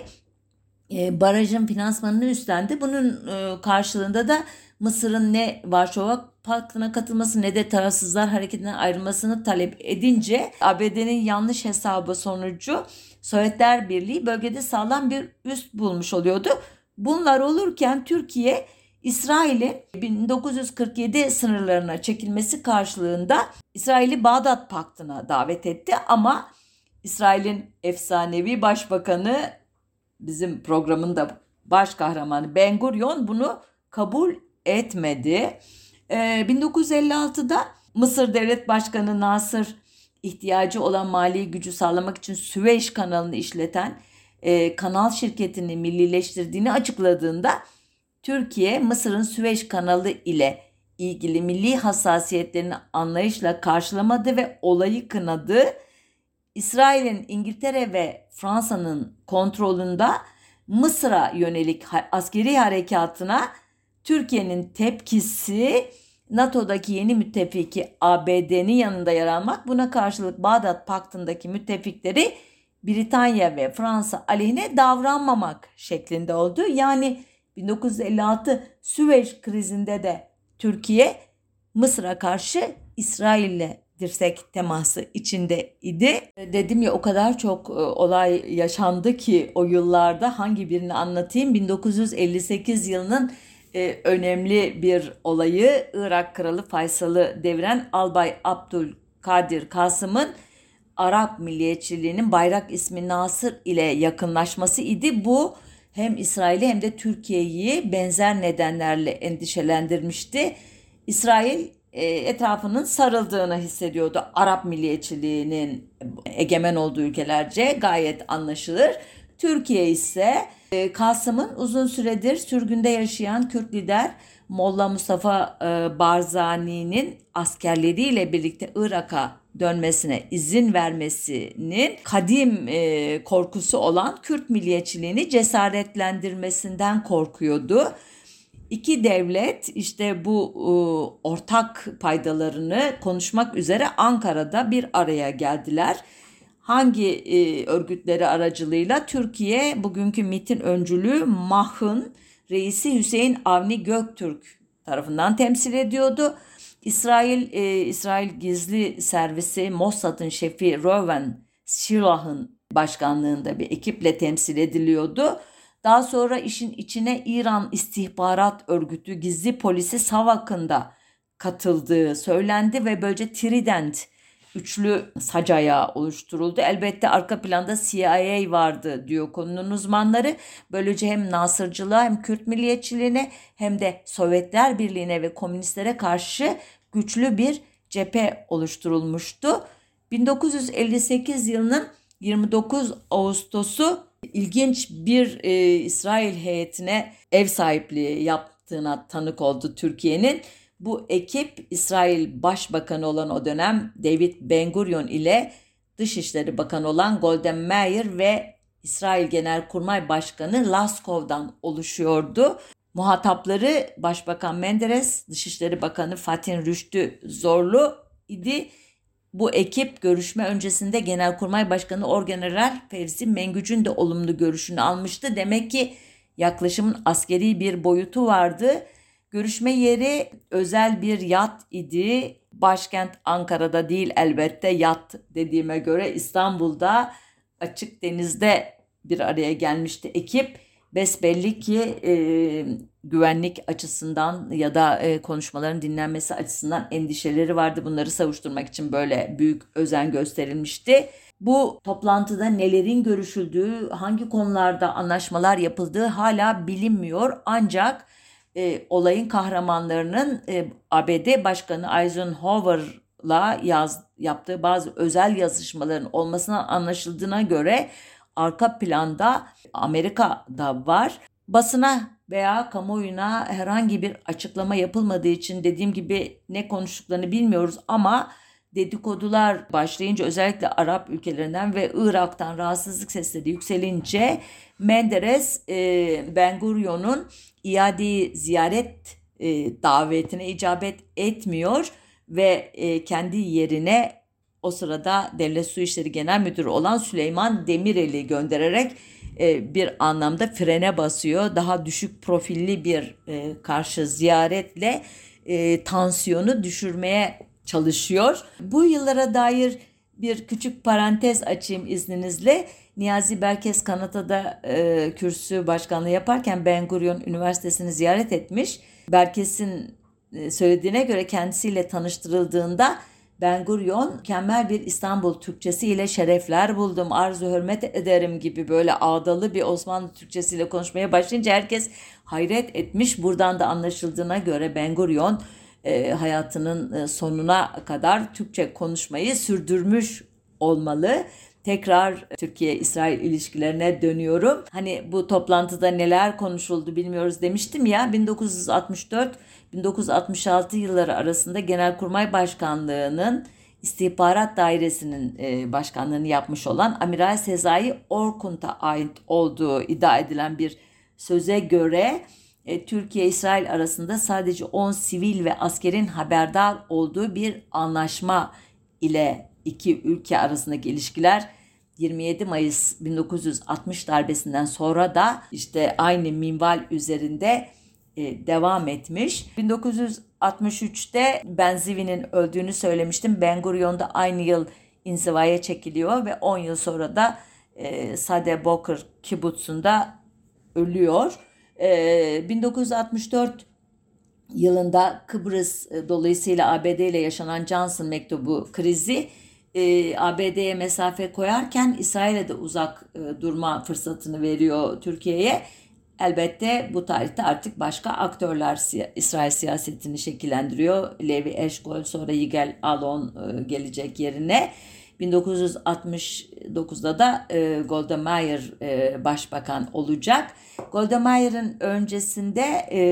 e, barajın finansmanını üstlendi. Bunun e, karşılığında da Mısır'ın ne Varşova Paktı'na katılması ne de tarafsızlar hareketinden ayrılmasını talep edince A B D'nin yanlış hesabı sonucu Sovyetler Birliği bölgede sağlam bir üst bulmuş oluyordu. Bunlar olurken Türkiye İsrail'in bin dokuz yüz kırk yedi sınırlarına çekilmesi karşılığında İsrail'i Bağdat Paktı'na davet etti ama İsrail'in efsanevi başbakanı, bizim programın da baş kahramanı Ben Gurion bunu kabul etmedi. Ee, bin dokuz yüz elli altıda Mısır Devlet Başkanı Nasır ihtiyacı olan mali gücü sağlamak için Süveyş kanalını işleten e, kanal şirketini millileştirdiğini açıkladığında Türkiye Mısır'ın Süveyş kanalı ile ilgili milli hassasiyetlerini anlayışla karşılamadı ve olayı kınadı. İsrail'in İngiltere ve Fransa'nın kontrolünde Mısır'a yönelik askeri harekatına Türkiye'nin tepkisi NATO'daki yeni müttefiki A B D'nin yanında yer almak, buna karşılık Bağdat Paktı'ndaki müttefikleri Britanya ve Fransa aleyhine davranmamak şeklinde oldu. Yani bin dokuz yüz elli altı Süveyş krizinde de Türkiye Mısır'a karşı İsrail'le dirsek teması içinde idi. Dedim ya, o kadar çok olay yaşandı ki o yıllarda, hangi birini anlatayım? bin dokuz yüz elli sekiz yılının önemli bir olayı, Irak Kralı Faysal'ı deviren Albay Abdülkadir Kasım'ın Arap milliyetçiliğinin Bayrak ismi Nasır ile yakınlaşması idi. Bu hem İsrail'i hem de Türkiye'yi benzer nedenlerle endişelendirmişti. İsrail etrafının sarıldığını hissediyordu. Arap milliyetçiliğinin egemen olduğu ülkelerce, gayet anlaşılır. Türkiye ise Kasım'ın uzun süredir sürgünde yaşayan Kürt lider Molla Mustafa Barzani'nin askerleriyle birlikte Irak'a dönmesine izin vermesinin kadim korkusu olan Kürt milliyetçiliğini cesaretlendirmesinden korkuyordu. İki devlet işte bu e, ortak paydalarını konuşmak üzere Ankara'da bir araya geldiler. Hangi e, örgütleri aracılığıyla? Türkiye bugünkü MİT'in öncülüğü MAH'ın reisi Hüseyin Avni Göktürk tarafından temsil ediyordu. İsrail e, İsrail Gizli Servisi Mossad'ın şefi Reuven Shilah'ın başkanlığında bir ekiple temsil ediliyordu. Daha sonra işin içine İran İstihbarat Örgütü Gizli Polisi SAVAK'ın da katıldığı söylendi ve böylece Trident üçlü sac ayağı oluşturuldu. Elbette arka planda C I A vardı diyor konunun uzmanları. Böylece hem Nasırcılığa hem Kürt milliyetçiliğine hem de Sovyetler Birliği'ne ve komünistlere karşı güçlü bir cephe oluşturulmuştu. bin dokuz yüz elli sekiz yılının yirmi dokuz Ağustos'u ilginç bir e, İsrail heyetine ev sahipliği yaptığına tanık oldu Türkiye'nin. Bu ekip İsrail Başbakanı olan o dönem David Ben-Gurion ile Dışişleri Bakanı olan Golda Meir ve İsrail Genelkurmay Başkanı Laskov'dan oluşuyordu. Muhatapları Başbakan Menderes, Dışişleri Bakanı Fatin Rüştü Zorlu idi. Bu ekip görüşme öncesinde Genelkurmay Başkanı Orgeneral Fevzi Mengüc'ün de olumlu görüşünü almıştı. Demek ki yaklaşımın askeri bir boyutu vardı. Görüşme yeri özel bir yat idi. Başkent Ankara'da değil elbette, yat dediğime göre İstanbul'da açık denizde bir araya gelmişti ekip. Besbelli ki e, güvenlik açısından ya da e, konuşmaların dinlenmesi açısından endişeleri vardı. Bunları savuşturmak için böyle büyük özen gösterilmişti. Bu toplantıda nelerin görüşüldüğü, hangi konularda anlaşmalar yapıldığı hala bilinmiyor. Ancak e, olayın kahramanlarının e, A B D Başkanı Eisenhower'la yaz, yaptığı bazı özel yazışmaların olmasına anlaşıldığına göre arka planda Amerika'da var. Basına veya kamuoyuna herhangi bir açıklama yapılmadığı için dediğim gibi ne konuştuklarını bilmiyoruz ama dedikodular başlayınca, özellikle Arap ülkelerinden ve Irak'tan rahatsızlık sesleri yükselince Menderes e, Ben-Gurion'un iadeyi ziyaret e, davetine icabet etmiyor ve e, kendi yerine o sırada Devlet Su İşleri Genel Müdürü olan Süleyman Demirel'i göndererek e, bir anlamda frene basıyor. Daha düşük profilli bir e, karşı ziyaretle e, tansiyonu düşürmeye çalışıyor. Bu yıllara dair bir küçük parantez açayım izninizle. Niyazi Berkes Kanada'da e, kürsü başkanlığı yaparken Ben-Gurion Üniversitesi'ni ziyaret etmiş. Berkes'in e, söylediğine göre kendisiyle tanıştırıldığında Ben-Gurion mükemmel bir İstanbul Türkçesi ile şerefler buldum, arzu hürmet ederim gibi böyle ağdalı bir Osmanlı Türkçesiyle konuşmaya başlayınca herkes hayret etmiş. Buradan da anlaşıldığına göre Ben-Gurion e, hayatının sonuna kadar Türkçe konuşmayı sürdürmüş olmalı. Tekrar Türkiye-İsrail ilişkilerine dönüyorum. Hani bu toplantıda neler konuşuldu bilmiyoruz demiştim ya. bin dokuz yüz altmış dört bin dokuz yüz altmış altı yılları arasında Genelkurmay Başkanlığı'nın İstihbarat Dairesi'nin e, başkanlığını yapmış olan Amiral Sezai Orkun'ta ait olduğu iddia edilen bir söze göre e, Türkiye-İsrail arasında sadece on sivil ve askerin haberdar olduğu bir anlaşma ile iki ülke arasındaki ilişkiler yirmi yedi Mayıs bin dokuz yüz altmış darbesinden sonra da işte aynı minval üzerinde e, devam etmiş. bin dokuz yüz altmış üçte Ben Zvi'nin öldüğünü söylemiştim. Ben Gurion da aynı yıl inzivaya çekiliyor ve on yıl sonra da e, Sade Boker Kibbutz'unda ölüyor. E, bin dokuz yüz altmış dört yılında Kıbrıs e, dolayısıyla A B D ile yaşanan Johnson mektubu krizi e, A B D'ye mesafe koyarken İsrail'e de uzak e, durma fırsatını veriyor Türkiye'ye. Elbette bu tarihte artık başka aktörler siya- İsrail siyasetini şekillendiriyor. Levi Eshkol, sonra Yigal Allon e, gelecek yerine. bin dokuz yüz altmış dokuzda da e, Golda Meir e, başbakan olacak. Golda Meir'in öncesinde e,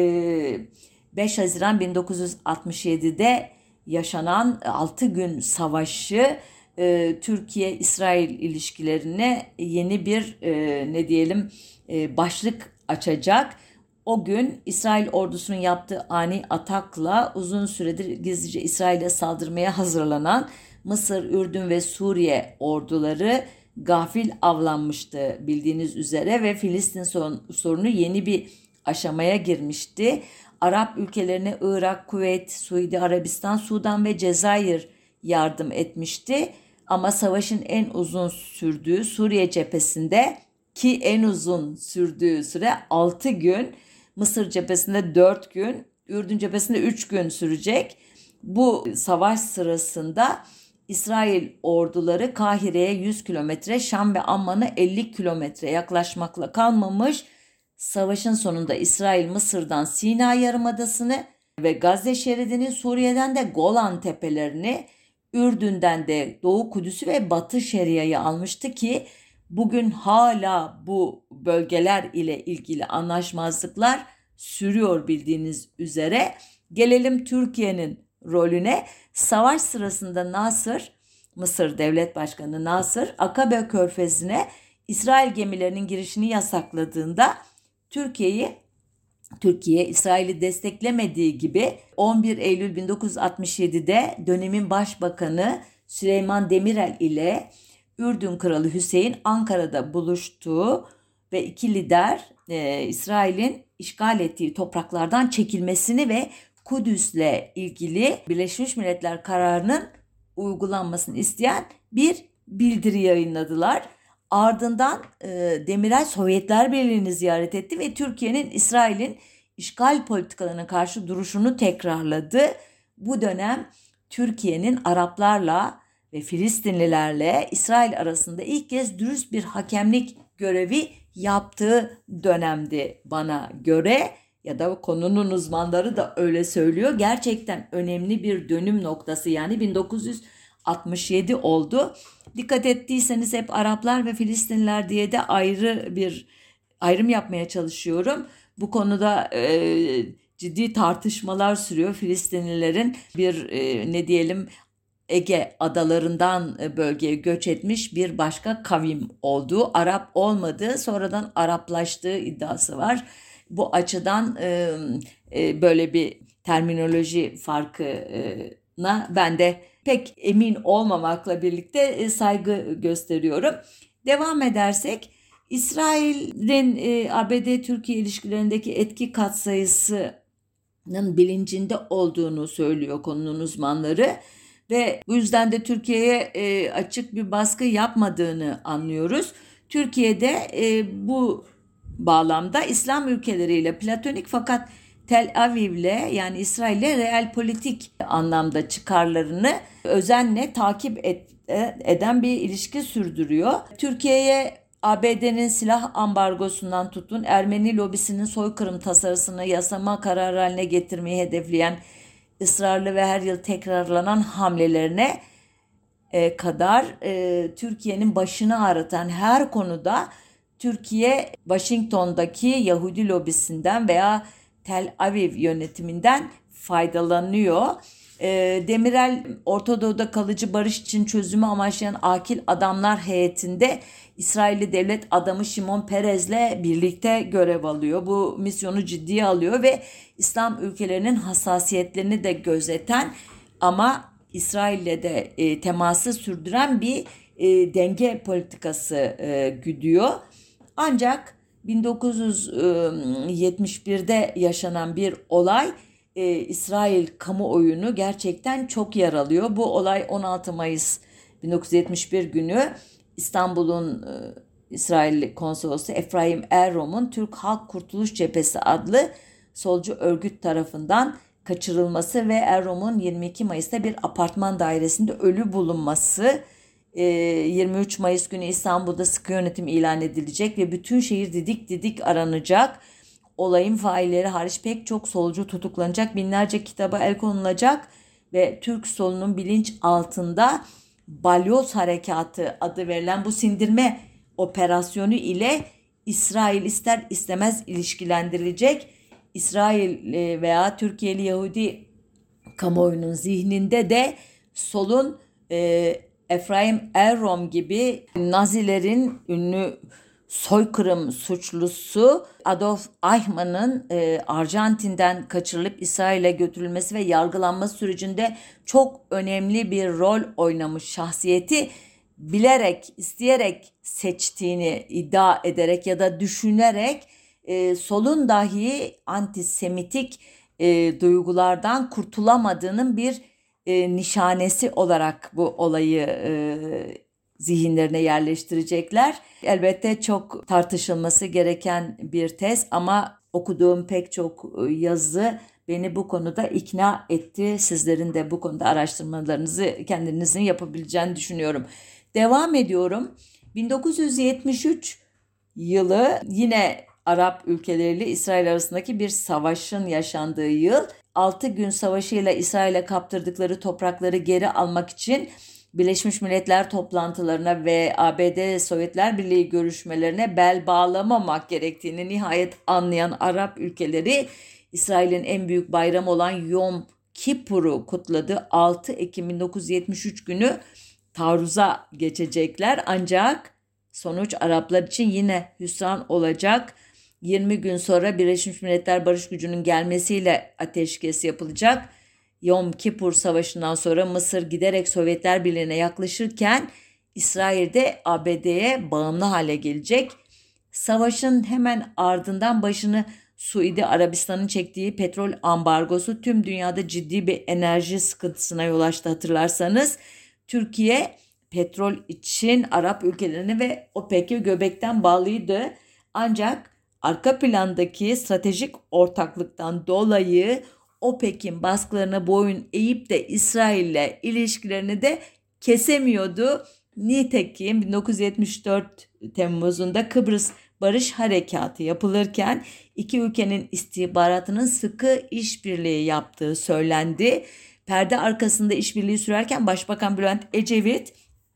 beş Haziran bin dokuz yüz altmış yedide yaşanan altı gün savaşı e, Türkiye-İsrail ilişkilerine yeni bir e, ne diyelim e, başlık açacak. O gün İsrail ordusunun yaptığı ani atakla uzun süredir gizlice İsrail'e saldırmaya hazırlanan Mısır, Ürdün ve Suriye orduları gafil avlanmıştı bildiğiniz üzere ve Filistin sorunu yeni bir aşamaya girmişti. Arap ülkelerine Irak, Kuveyt, Suudi Arabistan, Sudan ve Cezayir yardım etmişti. Ama savaşın en uzun sürdüğü Suriye cephesinde ki en uzun sürdüğü süre altı gün, Mısır cephesinde dört gün, Ürdün cephesinde üç gün sürecek. Bu savaş sırasında İsrail orduları Kahire'ye yüz kilometre, Şam ve Amman'a elli kilometre yaklaşmakla kalmamış. Savaşın sonunda İsrail Mısır'dan Sina Yarımadası'nı ve Gazze şeridini, Suriye'den de Golan Tepelerini, Ürdün'den de Doğu Kudüs'ü ve Batı Şeria'yı almıştı ki bugün hala bu bölgeler ile ilgili anlaşmazlıklar sürüyor bildiğiniz üzere. Gelelim Türkiye'nin rolüne. Savaş sırasında Nasır, Mısır Devlet Başkanı Nasır, Akabe Körfezi'ne İsrail gemilerinin girişini yasakladığında Türkiye'yi Türkiye İsrail'i desteklemediği gibi on bir Eylül bin dokuz yüz altmış yedide dönemin başbakanı Süleyman Demirel ile Ürdün Kralı Hüseyin Ankara'da buluştuğu ve iki lider e, İsrail'in işgal ettiği topraklardan çekilmesini ve Kudüs'le ilgili Birleşmiş Milletler kararının uygulanmasını isteyen bir bildiri yayınladılar. Ardından e, Demirel Sovyetler Birliği'ni ziyaret etti ve Türkiye'nin İsrail'in işgal politikalarına karşı duruşunu tekrarladı. Bu dönem Türkiye'nin Araplarla ve Filistinlilerle İsrail arasında ilk kez dürüst bir hakemlik görevi yaptığı dönemdi bana göre, ya da konunun uzmanları da öyle söylüyor. Gerçekten önemli bir dönüm noktası, yani bin dokuz yüz altmış yedi oldu. Dikkat ettiyseniz hep Araplar ve Filistinliler diye de ayrı bir ayrım yapmaya çalışıyorum. Bu konuda e, ciddi tartışmalar sürüyor. Filistinlilerin bir e, ne diyelim Ege adalarından bölgeye göç etmiş bir başka kavim olduğu, Arap olmadığı, sonradan Araplaştığı iddiası var. Bu açıdan e, e, böyle bir terminoloji farkına ben de pek emin olmamakla birlikte e, saygı gösteriyorum. Devam edersek, İsrail'in e, A B D-Türkiye ilişkilerindeki etki katsayısının bilincinde olduğunu söylüyor konunun uzmanları. Ve bu yüzden de Türkiye'ye e, açık bir baskı yapmadığını anlıyoruz. Türkiye'de e, bu bağlamda İslam ülkeleriyle platonik fakat Tel Aviv'le, yani İsrail'le real politik anlamda çıkarlarını özenle takip et, eden bir ilişki sürdürüyor. Türkiye'ye A B D'nin silah ambargosundan tutun Ermeni lobisinin soykırım tasarısını yasama kararı haline getirmeyi hedefleyen ısrarlı ve her yıl tekrarlanan hamlelerine e, kadar e, Türkiye'nin başını ağrıtan her konuda Türkiye Washington'daki Yahudi lobisinden veya Tel Aviv yönetiminden faydalanıyor. Demirel, Orta Doğu'da kalıcı barış için çözümü amaçlayan akil adamlar heyetinde İsrailli devlet adamı Şimon Perez'le birlikte görev alıyor. Bu misyonu ciddiye alıyor ve İslam ülkelerinin hassasiyetlerini de gözeten ama İsrail'le de e, teması sürdüren bir e, denge politikası e, güdüyor. Ancak bin dokuz yüz yetmiş birde yaşanan bir olay e, İsrail kamuoyunu gerçekten çok yaralıyor. Bu olay on altı Mayıs bin dokuz yüz yetmiş bir günü İstanbul'un e, İsrail konsolosu Efraim Errom'un Türk Halk Kurtuluş Cephesi adlı solcu örgüt tarafından kaçırılması ve Errom'un yirmi iki Mayıs'ta bir apartman dairesinde ölü bulunması, yirmi üç Mayıs günü İstanbul'da sıkı yönetim ilan edilecek ve bütün şehir didik didik aranacak. Olayın failleri hariç pek çok solcu tutuklanacak, binlerce kitaba el konulacak ve Türk solunun bilinç altında Balyoz Harekatı adı verilen bu sindirme operasyonu ile İsrail ister istemez ilişkilendirilecek. İsrail veya Türkiye'li Yahudi kamuoyunun zihninde de solun e, Efraim Errom gibi Nazilerin ünlü soykırım suçlusu Adolf Eichmann'ın e, Arjantin'den kaçırılıp İsrail'e götürülmesi ve yargılanması sürecinde çok önemli bir rol oynamış şahsiyeti bilerek, isteyerek seçtiğini iddia ederek ya da düşünerek e, solun dahi antisemitik e, duygulardan kurtulamadığının bir e, nişanesi olarak bu olayı e, zihinlerine yerleştirecekler. Elbette çok tartışılması gereken bir tez ama okuduğum pek çok yazı beni bu konuda ikna etti. Sizlerin de bu konuda araştırmalarınızı kendinizin yapabileceğini düşünüyorum. Devam ediyorum. bin dokuz yüz yetmiş üç yılı yine Arap ülkeleriyle İsrail arasındaki bir savaşın yaşandığı yıl. altı gün savaşıyla İsrail'e kaptırdıkları toprakları geri almak için Birleşmiş Milletler toplantılarına ve A B D Sovyetler Birliği görüşmelerine bel bağlamamak gerektiğini nihayet anlayan Arap ülkeleri İsrail'in en büyük bayramı olan Yom Kippur'u kutladı. altı Ekim bin dokuz yüz yetmiş üç günü taarruza geçecekler ancak sonuç Araplar için yine hüsran olacak. yirmi gün sonra Birleşmiş Milletler Barış Gücü'nün gelmesiyle ateşkes yapılacak. Yom Kippur Savaşı'ndan sonra Mısır giderek Sovyetler Birliği'ne yaklaşırken İsrail de A B D'ye bağımlı hale gelecek. Savaşın hemen ardından başını Suudi Arabistan'ın çektiği petrol ambargosu tüm dünyada ciddi bir enerji sıkıntısına yol açtı hatırlarsanız. Türkiye petrol için Arap ülkelerini ve OPEC'i göbekten bağlıydı. Ancak arka plandaki stratejik ortaklıktan dolayı OPEC'in baskılarına boyun eğip de İsrail'le ilişkilerini de kesemiyordu. Nitekim bin dokuz yüz yetmiş dört Temmuz'unda Kıbrıs Barış Harekatı yapılırken iki ülkenin istihbaratının sıkı işbirliği yaptığı söylendi. Perde arkasında işbirliği sürerken Başbakan Bülent Ecevit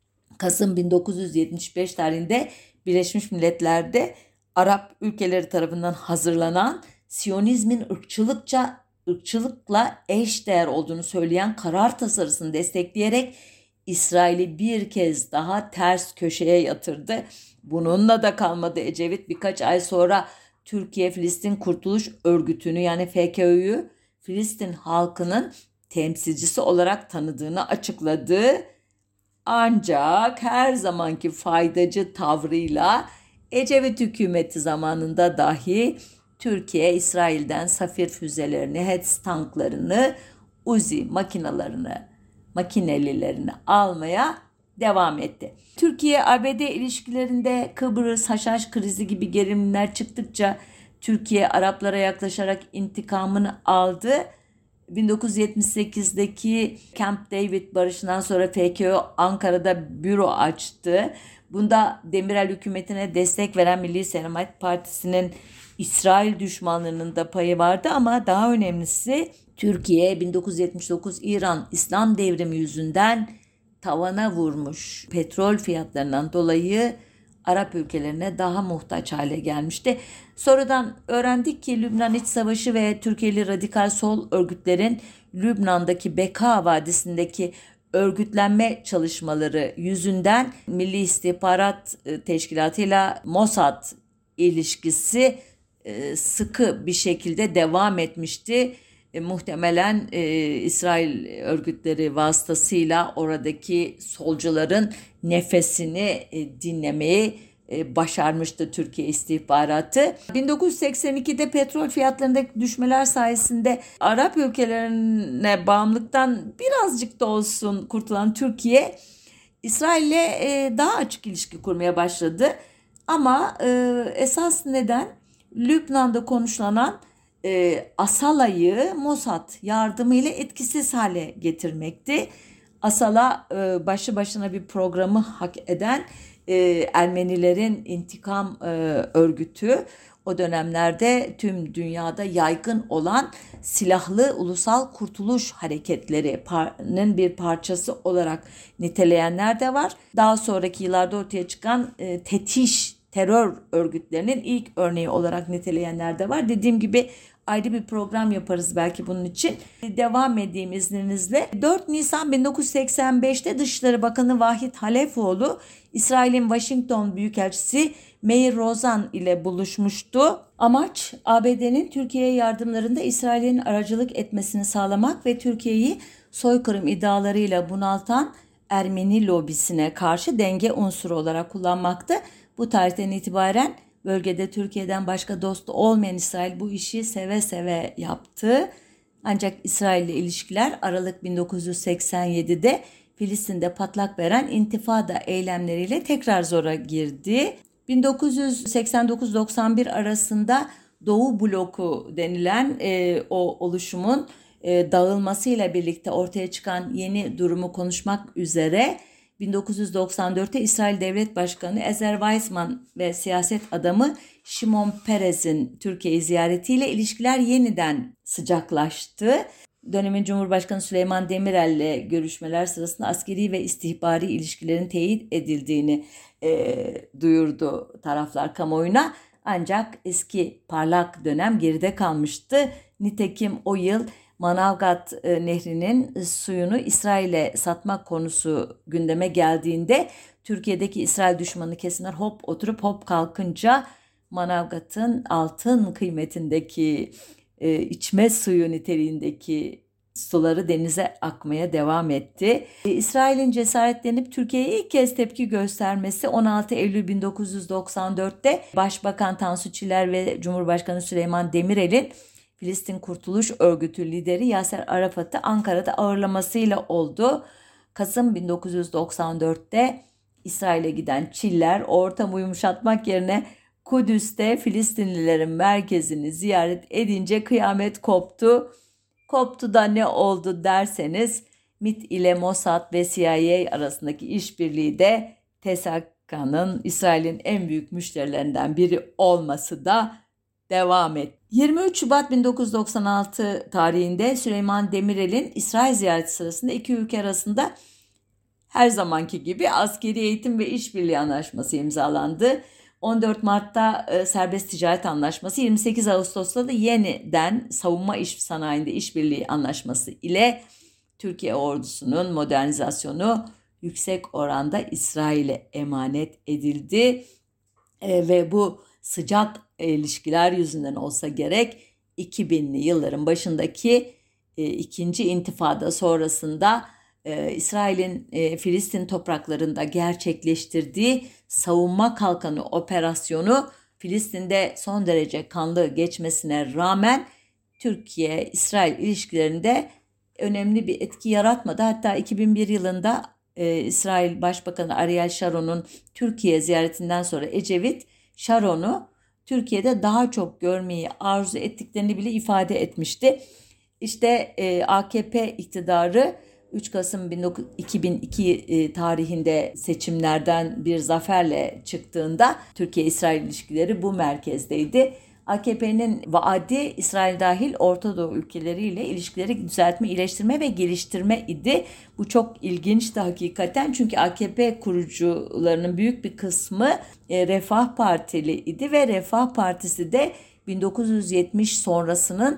Kasım bin dokuz yüz yetmiş beş tarihinde Birleşmiş Milletler'de Arap ülkeleri tarafından hazırlanan Siyonizmin ırkçılıkça ırkçılıkla eşdeğer olduğunu söyleyen karar tasarısını destekleyerek İsrail'i bir kez daha ters köşeye yatırdı. Bununla da kalmadı. Ecevit birkaç ay sonra Türkiye Filistin Kurtuluş Örgütü'nü yani F K Ö'yü Filistin halkının temsilcisi olarak tanıdığını açıkladı. Ancak her zamanki faydacı tavrıyla Ecevit hükümeti zamanında dahi Türkiye İsrail'den Safir füzelerini, Hetz tanklarını, Uzi makinalarını, makinelilerini almaya devam etti. Türkiye-A B D ilişkilerinde Kıbrıs, Haşhaş krizi gibi gerilimler çıktıkça Türkiye Araplara yaklaşarak intikamını aldı. bin dokuz yüz yetmiş sekizdeki Camp David barışından sonra F K Ö Ankara'da büro açtı. Bunda Demirel hükümetine destek veren Milli Selamet Partisi'nin İsrail düşmanlarının da payı vardı ama daha önemlisi Türkiye bin dokuz yüz yetmiş dokuz İran İslam devrimi yüzünden tavana vurmuş petrol fiyatlarından dolayı Arap ülkelerine daha muhtaç hale gelmişti. Sonradan öğrendik ki Lübnan İç Savaşı ve Türkiye'li radikal sol örgütlerin Lübnan'daki Beka Vadisi'ndeki örgütlenme çalışmaları yüzünden Milli İstihbarat Teşkilatı ile Mossad ilişkisi e, sıkı bir şekilde devam etmişti. E, muhtemelen e, İsrail örgütleri vasıtasıyla oradaki solcuların nefesini e, dinlemeyi e, başarmıştı Türkiye istihbaratı. bin dokuz yüz seksen ikide petrol fiyatlarındaki düşmeler sayesinde Arap ülkelerine bağımlılıktan birazcık da olsun kurtulan Türkiye, İsrail'le e, daha açık ilişki kurmaya başladı. Ama e, esas neden Lübnan'da konuşulan e, Asala'yı Mossad yardımıyla etkisiz hale getirmekti. Asala e, başlı başına bir programı hak eden e, Ermenilerin intikam e, örgütü. O dönemlerde tüm dünyada yaygın olan silahlı ulusal kurtuluş hareketlerinin bir parçası olarak niteleyenler de var. Daha sonraki yıllarda ortaya çıkan e, tetiş terör örgütlerinin ilk örneği olarak niteleyenler de var. Dediğim gibi ayrı bir program yaparız belki bunun için. Devam edeyim izninizle. dört Nisan bin dokuz yüz seksen beşte Dışişleri Bakanı Vahit Halefoğlu, İsrail'in Washington Büyükelçisi Meir Rozan ile buluşmuştu. Amaç A B D'nin Türkiye'ye yardımlarında İsrail'in aracılık etmesini sağlamak ve Türkiye'yi soykırım iddialarıyla bunaltan Ermeni lobisine karşı denge unsuru olarak kullanmaktı. Bu tarihten itibaren bölgede Türkiye'den başka dostu olmayan İsrail bu işi seve seve yaptı. Ancak İsrail ile ilişkiler Aralık bin dokuz yüz seksen yedide Filistin'de patlak veren intifada eylemleriyle tekrar zora girdi. bin dokuz yüz seksen dokuz doksan bir arasında Doğu Bloku denilen e, o oluşumun e, dağılmasıyla birlikte ortaya çıkan yeni durumu konuşmak üzere bin dokuz yüz doksan dörtte İsrail Devlet Başkanı Ezer Weizmann ve siyaset adamı Şimon Peres'in Türkiye ziyaretiyle ilişkiler yeniden sıcaklaştı. Dönemin Cumhurbaşkanı Süleyman Demirel ile görüşmeler sırasında askeri ve istihbari ilişkilerin teyit edildiğini e, duyurdu taraflar kamuoyuna. Ancak eski parlak dönem geride kalmıştı. Nitekim o yıl Manavgat e, Nehri'nin suyunu İsrail'e satmak konusu gündeme geldiğinde Türkiye'deki İsrail düşmanı kesimler hop oturup hop kalkınca Manavgat'ın altın kıymetindeki e, içme suyu niteliğindeki suları denize akmaya devam etti. E, İsrail'in cesaretlenip Türkiye'ye ilk kez tepki göstermesi on altı Eylül bin dokuz yüz doksan dörtte Başbakan Tansu Çiller ve Cumhurbaşkanı Süleyman Demirel'in Filistin Kurtuluş Örgütü lideri Yaser Arafat'ı Ankara'da ağırlamasıyla oldu. Kasım bin dokuz yüz doksan dörtte İsrail'e giden Çiller ortamı yumuşatmak yerine Kudüs'te Filistinlilerin merkezini ziyaret edince kıyamet koptu. Koptu da ne oldu derseniz M İ T ile Mossad ve C I A arasındaki işbirliği de T S K'nın İsrail'in en büyük müşterilerinden biri olması da devam etti. yirmi üç Şubat bin dokuz yüz doksan altı tarihinde Süleyman Demirel'in İsrail ziyareti sırasında iki ülke arasında her zamanki gibi askeri eğitim ve işbirliği anlaşması imzalandı. on dört Mart'ta e, serbest ticaret anlaşması, yirmi sekiz Ağustos'ta da yeniden savunma iş sanayinde işbirliği anlaşması ile Türkiye ordusunun modernizasyonu yüksek oranda İsrail'e emanet edildi. E, ve bu sıcak ilişkiler yüzünden olsa gerek iki binli yılların başındaki e, ikinci intifada sonrasında e, İsrail'in e, Filistin topraklarında gerçekleştirdiği savunma kalkanı operasyonu Filistin'de son derece kanlı geçmesine rağmen Türkiye-İsrail ilişkilerinde önemli bir etki yaratmadı. Hatta iki bin bir yılında e, İsrail Başbakanı Ariel Sharon'un Türkiye ziyaretinden sonra Ecevit Sharon'u Türkiye'de daha çok görmeyi arzu ettiklerini bile ifade etmişti. İşte e, A K P iktidarı üç Kasım iki bin iki e, tarihinde seçimlerden bir zaferle çıktığında Türkiye-İsrail ilişkileri bu merkezdeydi. A K P'nin vaadi İsrail dahil Orta Doğu ülkeleriyle ilişkileri düzeltme, iyileştirme ve geliştirme idi. Bu çok ilginçti hakikaten çünkü A K P kurucularının büyük bir kısmı e, Refah Partili idi ve Refah Partisi de bin dokuz yüz yetmiş sonrasının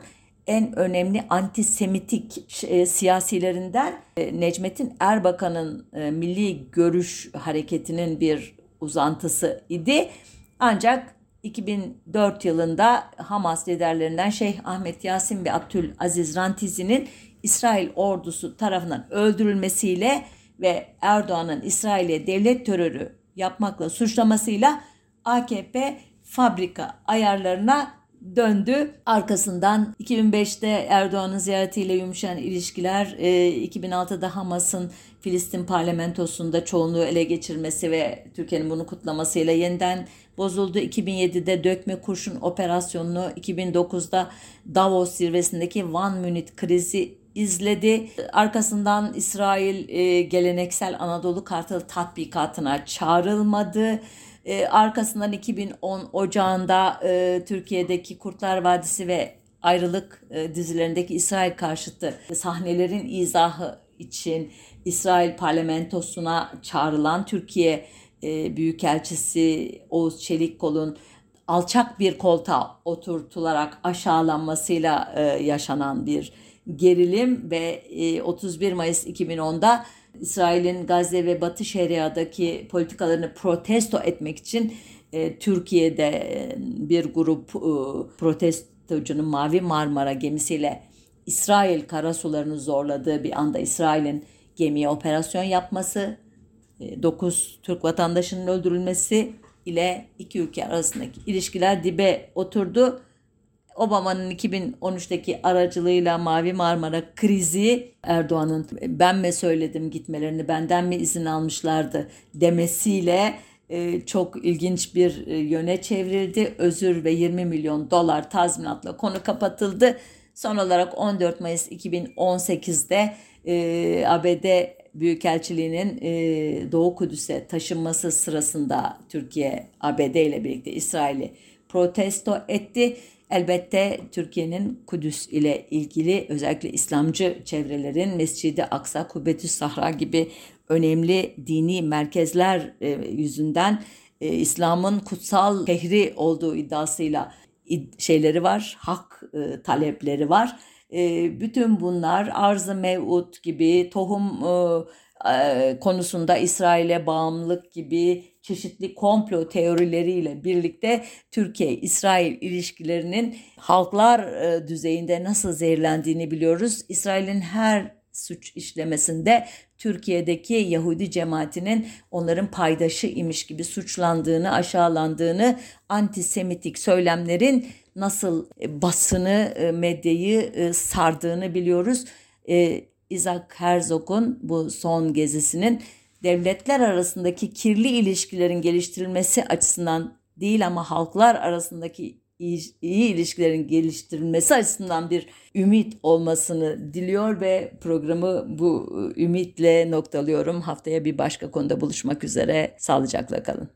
en önemli antisemitik e, siyasilerinden e, Necmettin Erbakan'ın e, Milli Görüş Hareketi'nin bir uzantısı idi. Ancak iki bin dört yılında Hamas liderlerinden Şeyh Ahmet Yasin ve Abdülaziz Rantizi'nin İsrail ordusu tarafından öldürülmesiyle ve Erdoğan'ın İsrail'e devlet terörü yapmakla suçlamasıyla A K P fabrika ayarlarına döndü. Arkasından iki bin beşte Erdoğan'ın ziyaretiyle yumuşayan ilişkiler, iki bin altıda Hamas'ın Filistin parlamentosunda çoğunluğu ele geçirmesi ve Türkiye'nin bunu kutlamasıyla yeniden bozuldu. iki bin yedide dökme kurşun operasyonunu, iki bin dokuzda Davos zirvesindeki One Minute krizi izledi. Arkasından İsrail e, geleneksel Anadolu Kartalı tatbikatına çağrılmadı. E, arkasından iki bin on Ocağı'nda e, Türkiye'deki Kurtlar Vadisi ve Ayrılık e, dizilerindeki İsrail karşıtı sahnelerin izahı için İsrail parlamentosuna çağrılan Türkiye e, Büyükelçisi Oğuz Çelikkol'un alçak bir koltuğa oturtularak aşağılanmasıyla e, yaşanan bir gerilim ve e, otuz bir Mayıs iki bin onda İsrail'in Gazze ve Batı Şeria'daki politikalarını protesto etmek için e, Türkiye'de e, bir grup e, protestocunun Mavi Marmara gemisiyle İsrail karasularını zorladığı bir anda İsrail'in gemiye operasyon yapması, e, dokuz Türk vatandaşının öldürülmesi ile iki ülke arasındaki ilişkiler dibe oturdu. Obama'nın iki bin on üçteki aracılığıyla Mavi Marmara krizi, Erdoğan'ın ben mi söyledim gitmelerini, benden mi izin almışlardı demesiyle e, çok ilginç bir e, yöne çevrildi. Özür ve yirmi milyon dolar tazminatla konu kapatıldı. Son olarak on dört Mayıs iki bin on sekizde e, A B D Büyükelçiliğinin e, Doğu Kudüs'e taşınması sırasında Türkiye A B D ile birlikte İsrail'i protesto etti. Elbette Türkiye'nin Kudüs ile ilgili özellikle İslamcı çevrelerin Mescid-i Aksa, Kubbetüs Sahra gibi önemli dini merkezler e, yüzünden e, İslam'ın kutsal şehri olduğu iddiasıyla id- şeyleri var, hak e, talepleri var. E, bütün bunlar arz-ı mev'ud gibi, tohum e, e, konusunda İsrail'e bağımlılık gibi çeşitli komplo teorileriyle birlikte Türkiye-İsrail ilişkilerinin halklar e, düzeyinde nasıl zehirlendiğini biliyoruz. İsrail'in her suç işlemesinde Türkiye'deki Yahudi cemaatinin onların paydaşı imiş gibi suçlandığını, aşağılandığını, antisemitik söylemlerin nasıl basını, medyayı sardığını biliyoruz. Isaac Herzog'un bu son gezisinin devletler arasındaki kirli ilişkilerin geliştirilmesi açısından değil ama halklar arasındaki iyi, iyi ilişkilerin geliştirilmesi açısından bir ümit olmasını diliyor ve programı bu ümitle noktalıyorum. Haftaya bir başka konuda buluşmak üzere. Sağlıcakla kalın.